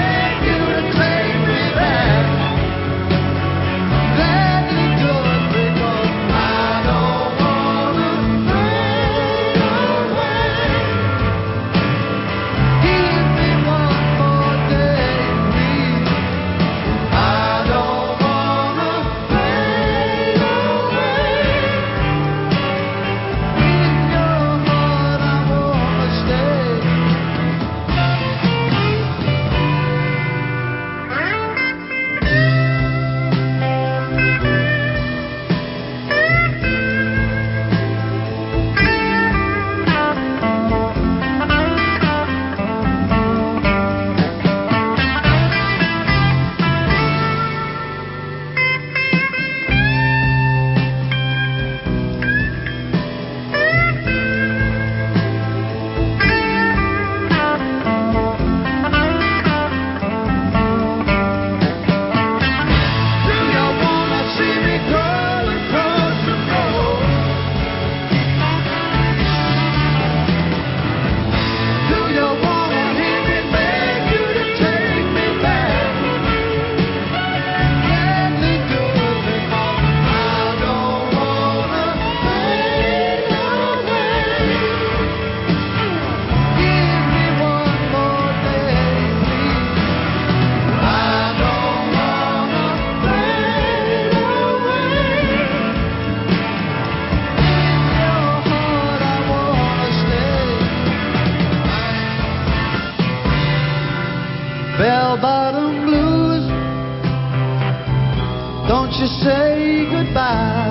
by.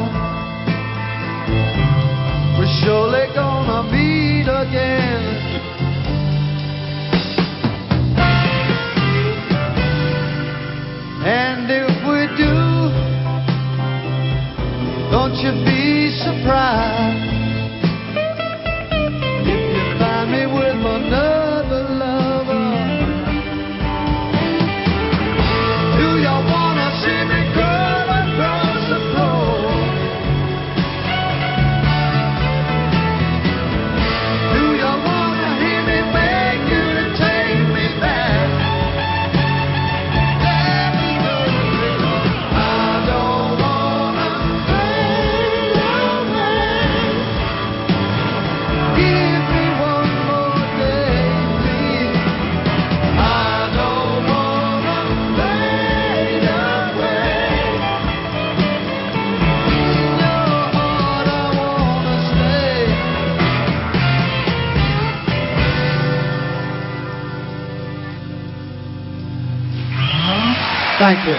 We're surely gonna meet again. And if we do, don't you be surprised if you find me with another lover. Do you wanna see me curl across the floor? Do you wanna hear me beg you to take me back? Let me go, because I don't wanna fade away. Give me one more day, please. I don't wanna fade away. In your heart I wanna stay. Thank you.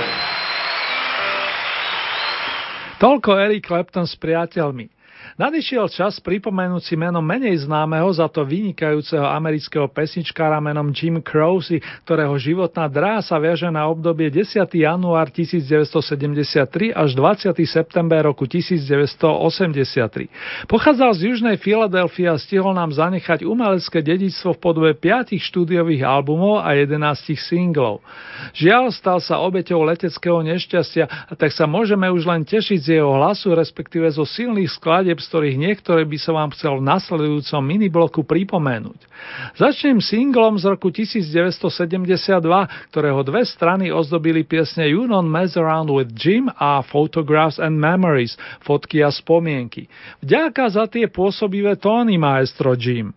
Toľko Eric Clapton s priateľmi. Nadišiel čas pripomenúť si meno menej známeho, za to vynikajúceho amerického pesničkára menom Jim Croce, ktorého životná dráha sa viaže na obdobie desiateho január tisícdeväťstosedemdesiattri až dvadsiateho september roku tisícdeväťstoosemdesiattri. Pochádzal z južnej Filadelfie a stihol nám zanechať umelecké dedičstvo v podobe piatich štúdiových albumov a jedenástich singlov. Žiaľ, stal sa obeťou leteckého nešťastia, a tak sa môžeme už len tešiť z jeho hlasu, respektíve zo silných skladieb, z ktorých niektoré by som vám chcel v nasledujúcom minibloku pripomenúť. Začnem singlom z roku devätnásťstosedemdesiatdva, ktorého dve strany ozdobili piesne You Don't Mess Around with Jim a Photographs and Memories, fotky a spomienky. Vďaka za tie pôsobivé tóny, maestro Jim.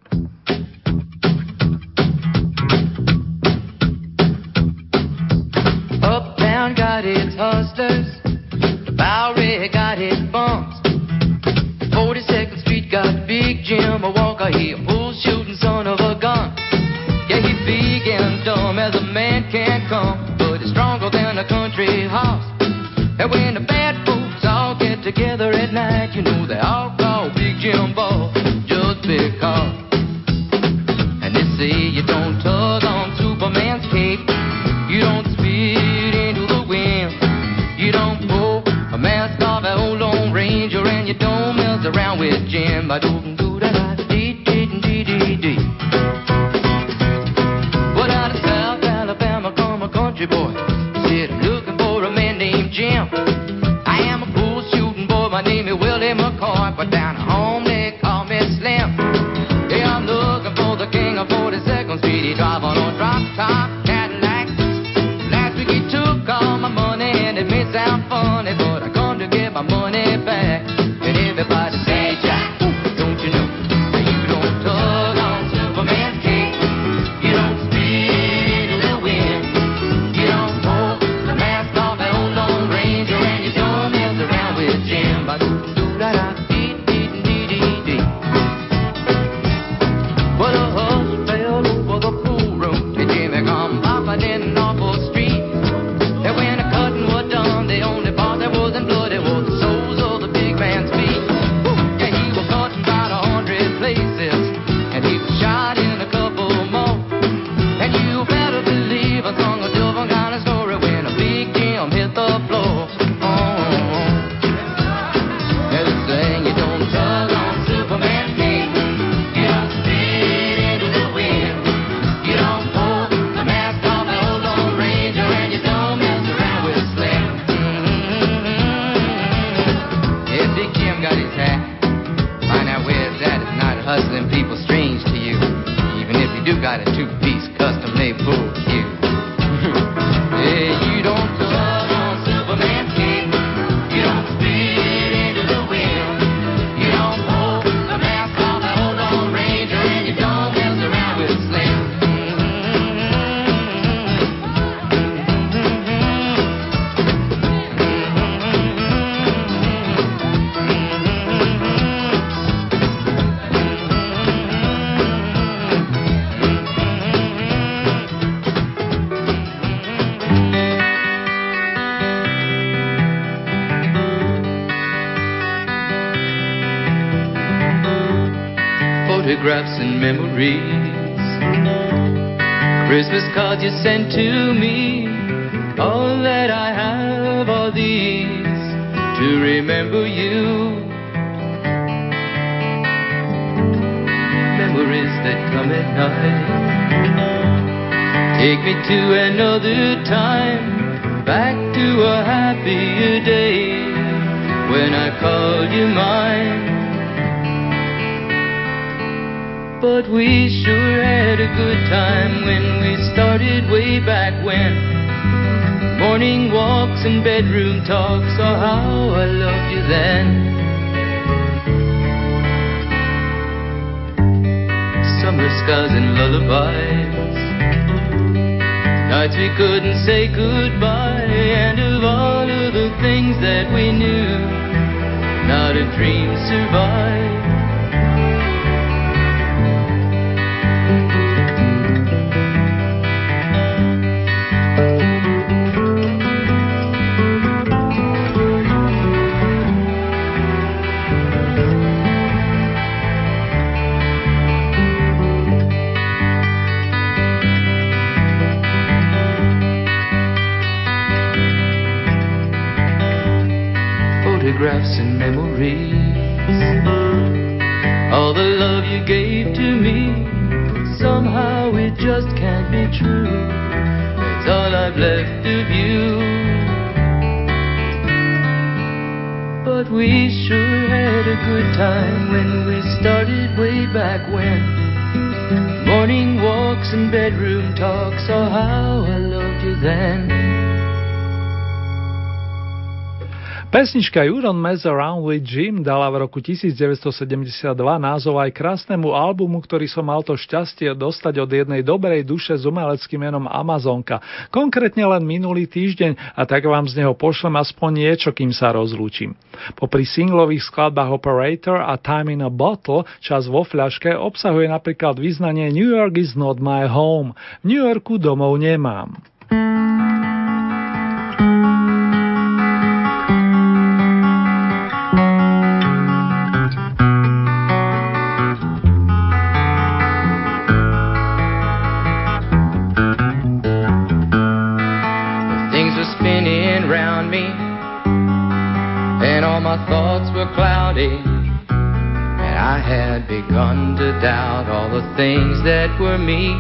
Uptown got its hustlers, the Bowery got its bumps, forty-second Street got Big Jim, a Walker, he a bull shooting son of a gun. Yeah, he big and dumb as a man can come, but he's stronger than a country horse. And when the bad folks all get together at night, you know they all call Big Jim Ball just because. And they say you don't tug on Superman's cape, you don't spit into the wind, you don't pull a mask off an old Lone Ranger, and you don't mess around with Jim. I don't do that. Dee dee dee dee dee. Well, out of South Alabama come a country boy. Said I'm looking for a man named Jim. I am a bull shooting boy. My name is Willie McCoy, but down at home they call me Slim. Yeah, I'm looking for the king of forty-second Street. He drive on a drop top Cadillac. Last week he took all my money, and it may sound funny, but I come to get my money back. And everybody say, Jack, don't you know that you don't tug on Superman's cape, you don't spit in the wind, you don't pull the mask off an old Lone Ranger, and you don't mess around with Jim. Ba-doo-doo-da-da-dee-dee-dee-dee. Well, a hush fell over the pool room, and Jimmy come popping in an awful street. And when the cutting was done, the only part that wasn't blood, it was the soles of the big man's feet. Woo! Yeah, he was cut in about a hundred places, and he was shot in a couple more. And you better believe I sung a different kind of story when a Big Jim hit the floor. Oh, yeah, they saying you don't tug on Superman's cape, you don't spit into the wind, you don't pull the mask off an old Lone Ranger, and you don't mess around with Slim. Mm-hmm. Yeah, Big Jim got his hat. Find out where it's at. It's not hustling people strange to you, even if you do got a two-piece custom-made bull cue. Yeah, you don't tug on Superman's cape, you don't spit into the wind, you don't pull the mask off an old Lone Ranger, and you don't mess around with Slim. photographs and memories, Christmas cards you sent to me. All that I have are these to remember you. Memories that come at night take me to another time, back to a happier day when I called you mine. But we sure had a good time when we started way back when. Morning walks and bedroom talks, oh how I loved you then. Summer skies and lullabies, nights we couldn't say goodbye, and of all of the things that we knew, not a dream survived. Photographs and memories, all the love you gave to me, somehow it just can't be true. It's all I've left of you. But we sure had a good time when we started way back when. Morning walks and bedroom talks, oh how I loved you then. Pesnička You Don't Mess Around with Jim dala v roku devätnásťsedemdesiatdva názov aj krásnemu albumu, ktorý som mal to šťastie dostať od jednej dobrej duše s umeleckým menom Amazonka. Konkrétne len minulý týždeň, a tak vám z neho pošlem aspoň niečo, kým sa rozlúčim. Popri singlových skladbách Operator a Time in a Bottle, Čas vo fľaške, obsahuje napríklad vyznanie New York is not my home. V New Yorku domov nemám. My thoughts were cloudy, and I had begun to doubt all the things that were me.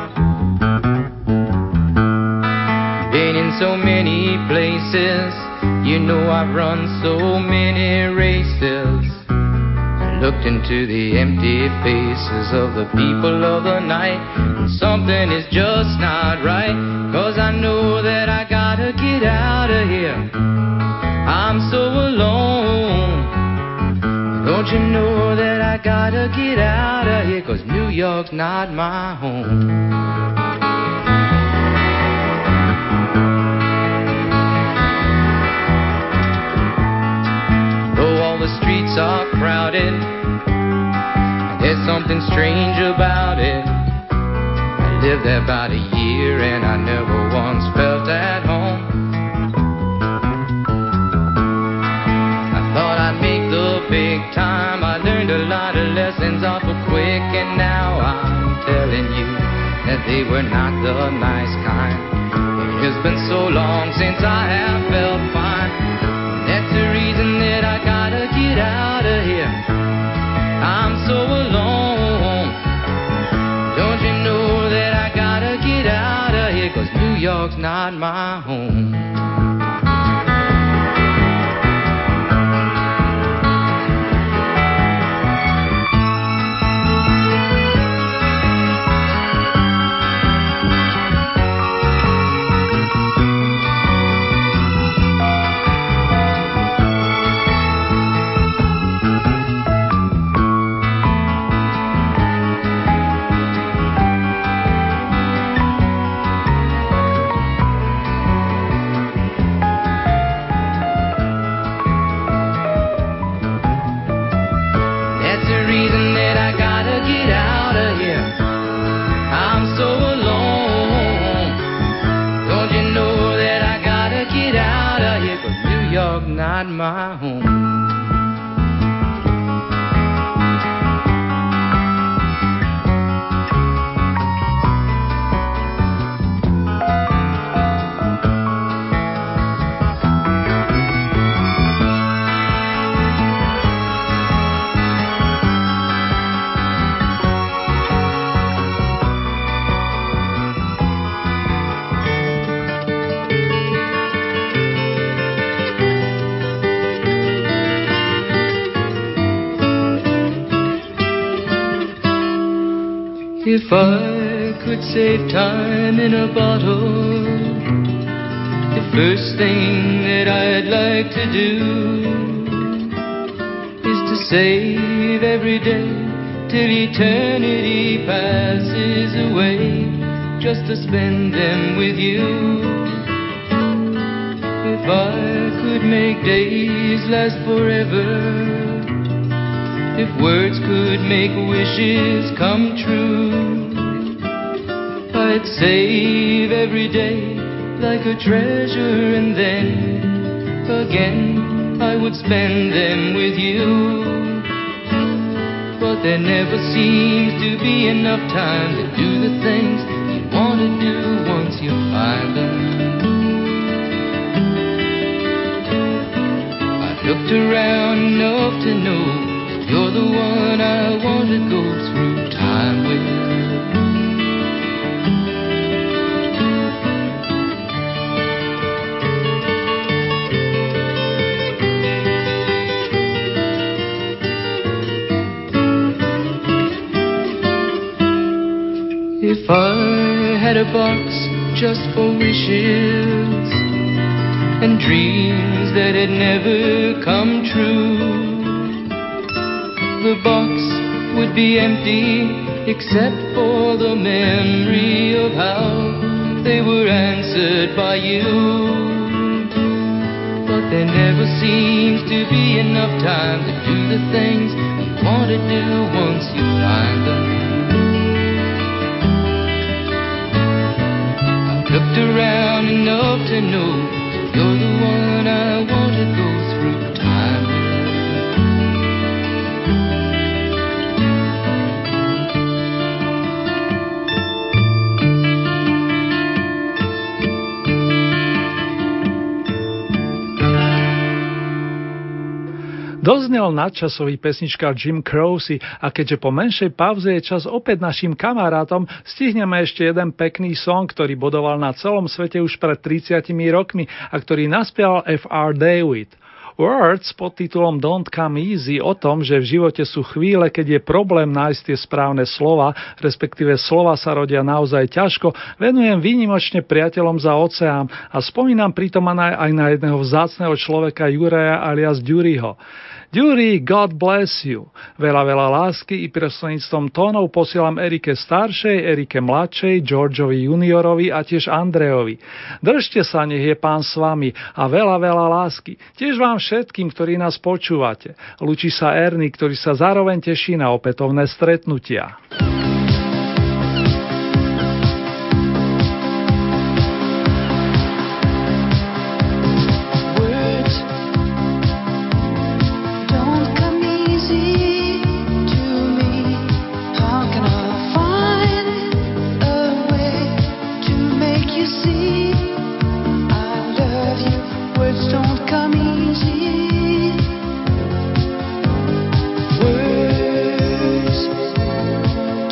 Been in so many places, you know I've run so many races. I looked into the empty faces of the people of the night, and something is just not right, 'cause I know that I gotta get out of here. I'm so alone. Don't you know that I gotta get out of here, 'cause New York's not my home. Though all the streets are crowded, there's something strange about it. I lived there about a year and I never once felt at home. Make the big time. I learned a lot of lessons awful quick, and now I'm telling you that they were not the nice kind. It has been so long since I have felt fine. That's the reason that I gotta get out of here. I'm so alone. Don't you know that I gotta get out of here, 'cause New York's not my home. Not my home. If I could save time in a bottle, the first thing that I'd like to do is to save every day till eternity passes away, just to spend them with you. If I could make days last forever, if words could make wishes come true, I'd save every day like a treasure, and then again I would spend them with you. But there never seems to be enough time to do the things you want to do once you find them. I've looked around enough to know you're the one I want to go through time with. If I had a box just for wishes and dreams that had never come true, the box would be empty except for the memory of how they were answered by you. But there never seems to be enough time to do the things you want to do once you find them. I've looked around enough to know you're the one I want to go through time with. Doznel nadčasový pesničkár Jim Croce a keďže po menšej pauze je čas opäť našim kamarátom, stihneme ešte jeden pekný song, ktorý bodoval na celom svete už pred tridsiatimi rokmi a ktorý naspieval F R David. Words pod titulom Don't Come Easy o tom, že v živote sú chvíle, keď je problém nájsť tie správne slova, respektíve slova sa rodia naozaj ťažko, venujem výnimočne priateľom za oceán a spomínam pritom aj na jedného vzácneho človeka Juraja alias Duryho. Dury, God bless you. Veľa, veľa lásky i prostredníctvom tónov posielam Erike staršej, Erike mladšej, Georgeovi juniorovi a tiež Andrejovi. Držte sa, nech je Pán s vami a veľa, veľa lásky. Tiež vám všetkým, ktorí nás počúvate. Lúči sa Erny, ktorý sa zároveň teší na opätovné stretnutia. Words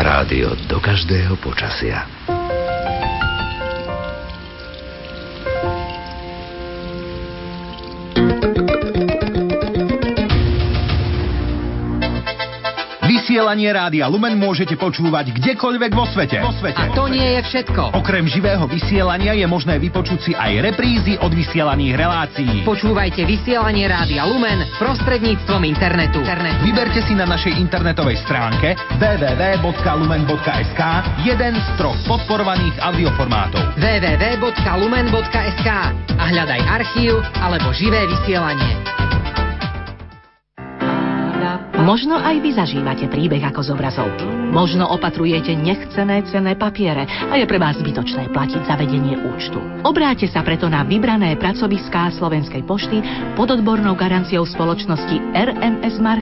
Rádio do každého počasia. Vysielanie Rádia Lumen môžete počúvať kdekoľvek vo svete. vo svete. A to nie je všetko. Okrem živého vysielania je možné vypočuť si aj reprízy od vysielaných relácií. Počúvajte vysielanie Rádia Lumen prostredníctvom internetu. internetu. Vyberte si na našej internetovej stránke w w w bodka lumen bodka es ka jeden z troch podporovaných audioformátov. w w w bodka lumen bodka es ka a hľadaj archív alebo živé vysielanie. Možno aj vy zažívate príbeh ako z obrazovky. Možno opatrujete nechcené cenné papiere a je pre vás zbytočné platiť za vedenie účtu. Obráťte sa preto na vybrané pracoviská Slovenskej pošty pod odbornou garanciou spoločnosti er em es Marketing.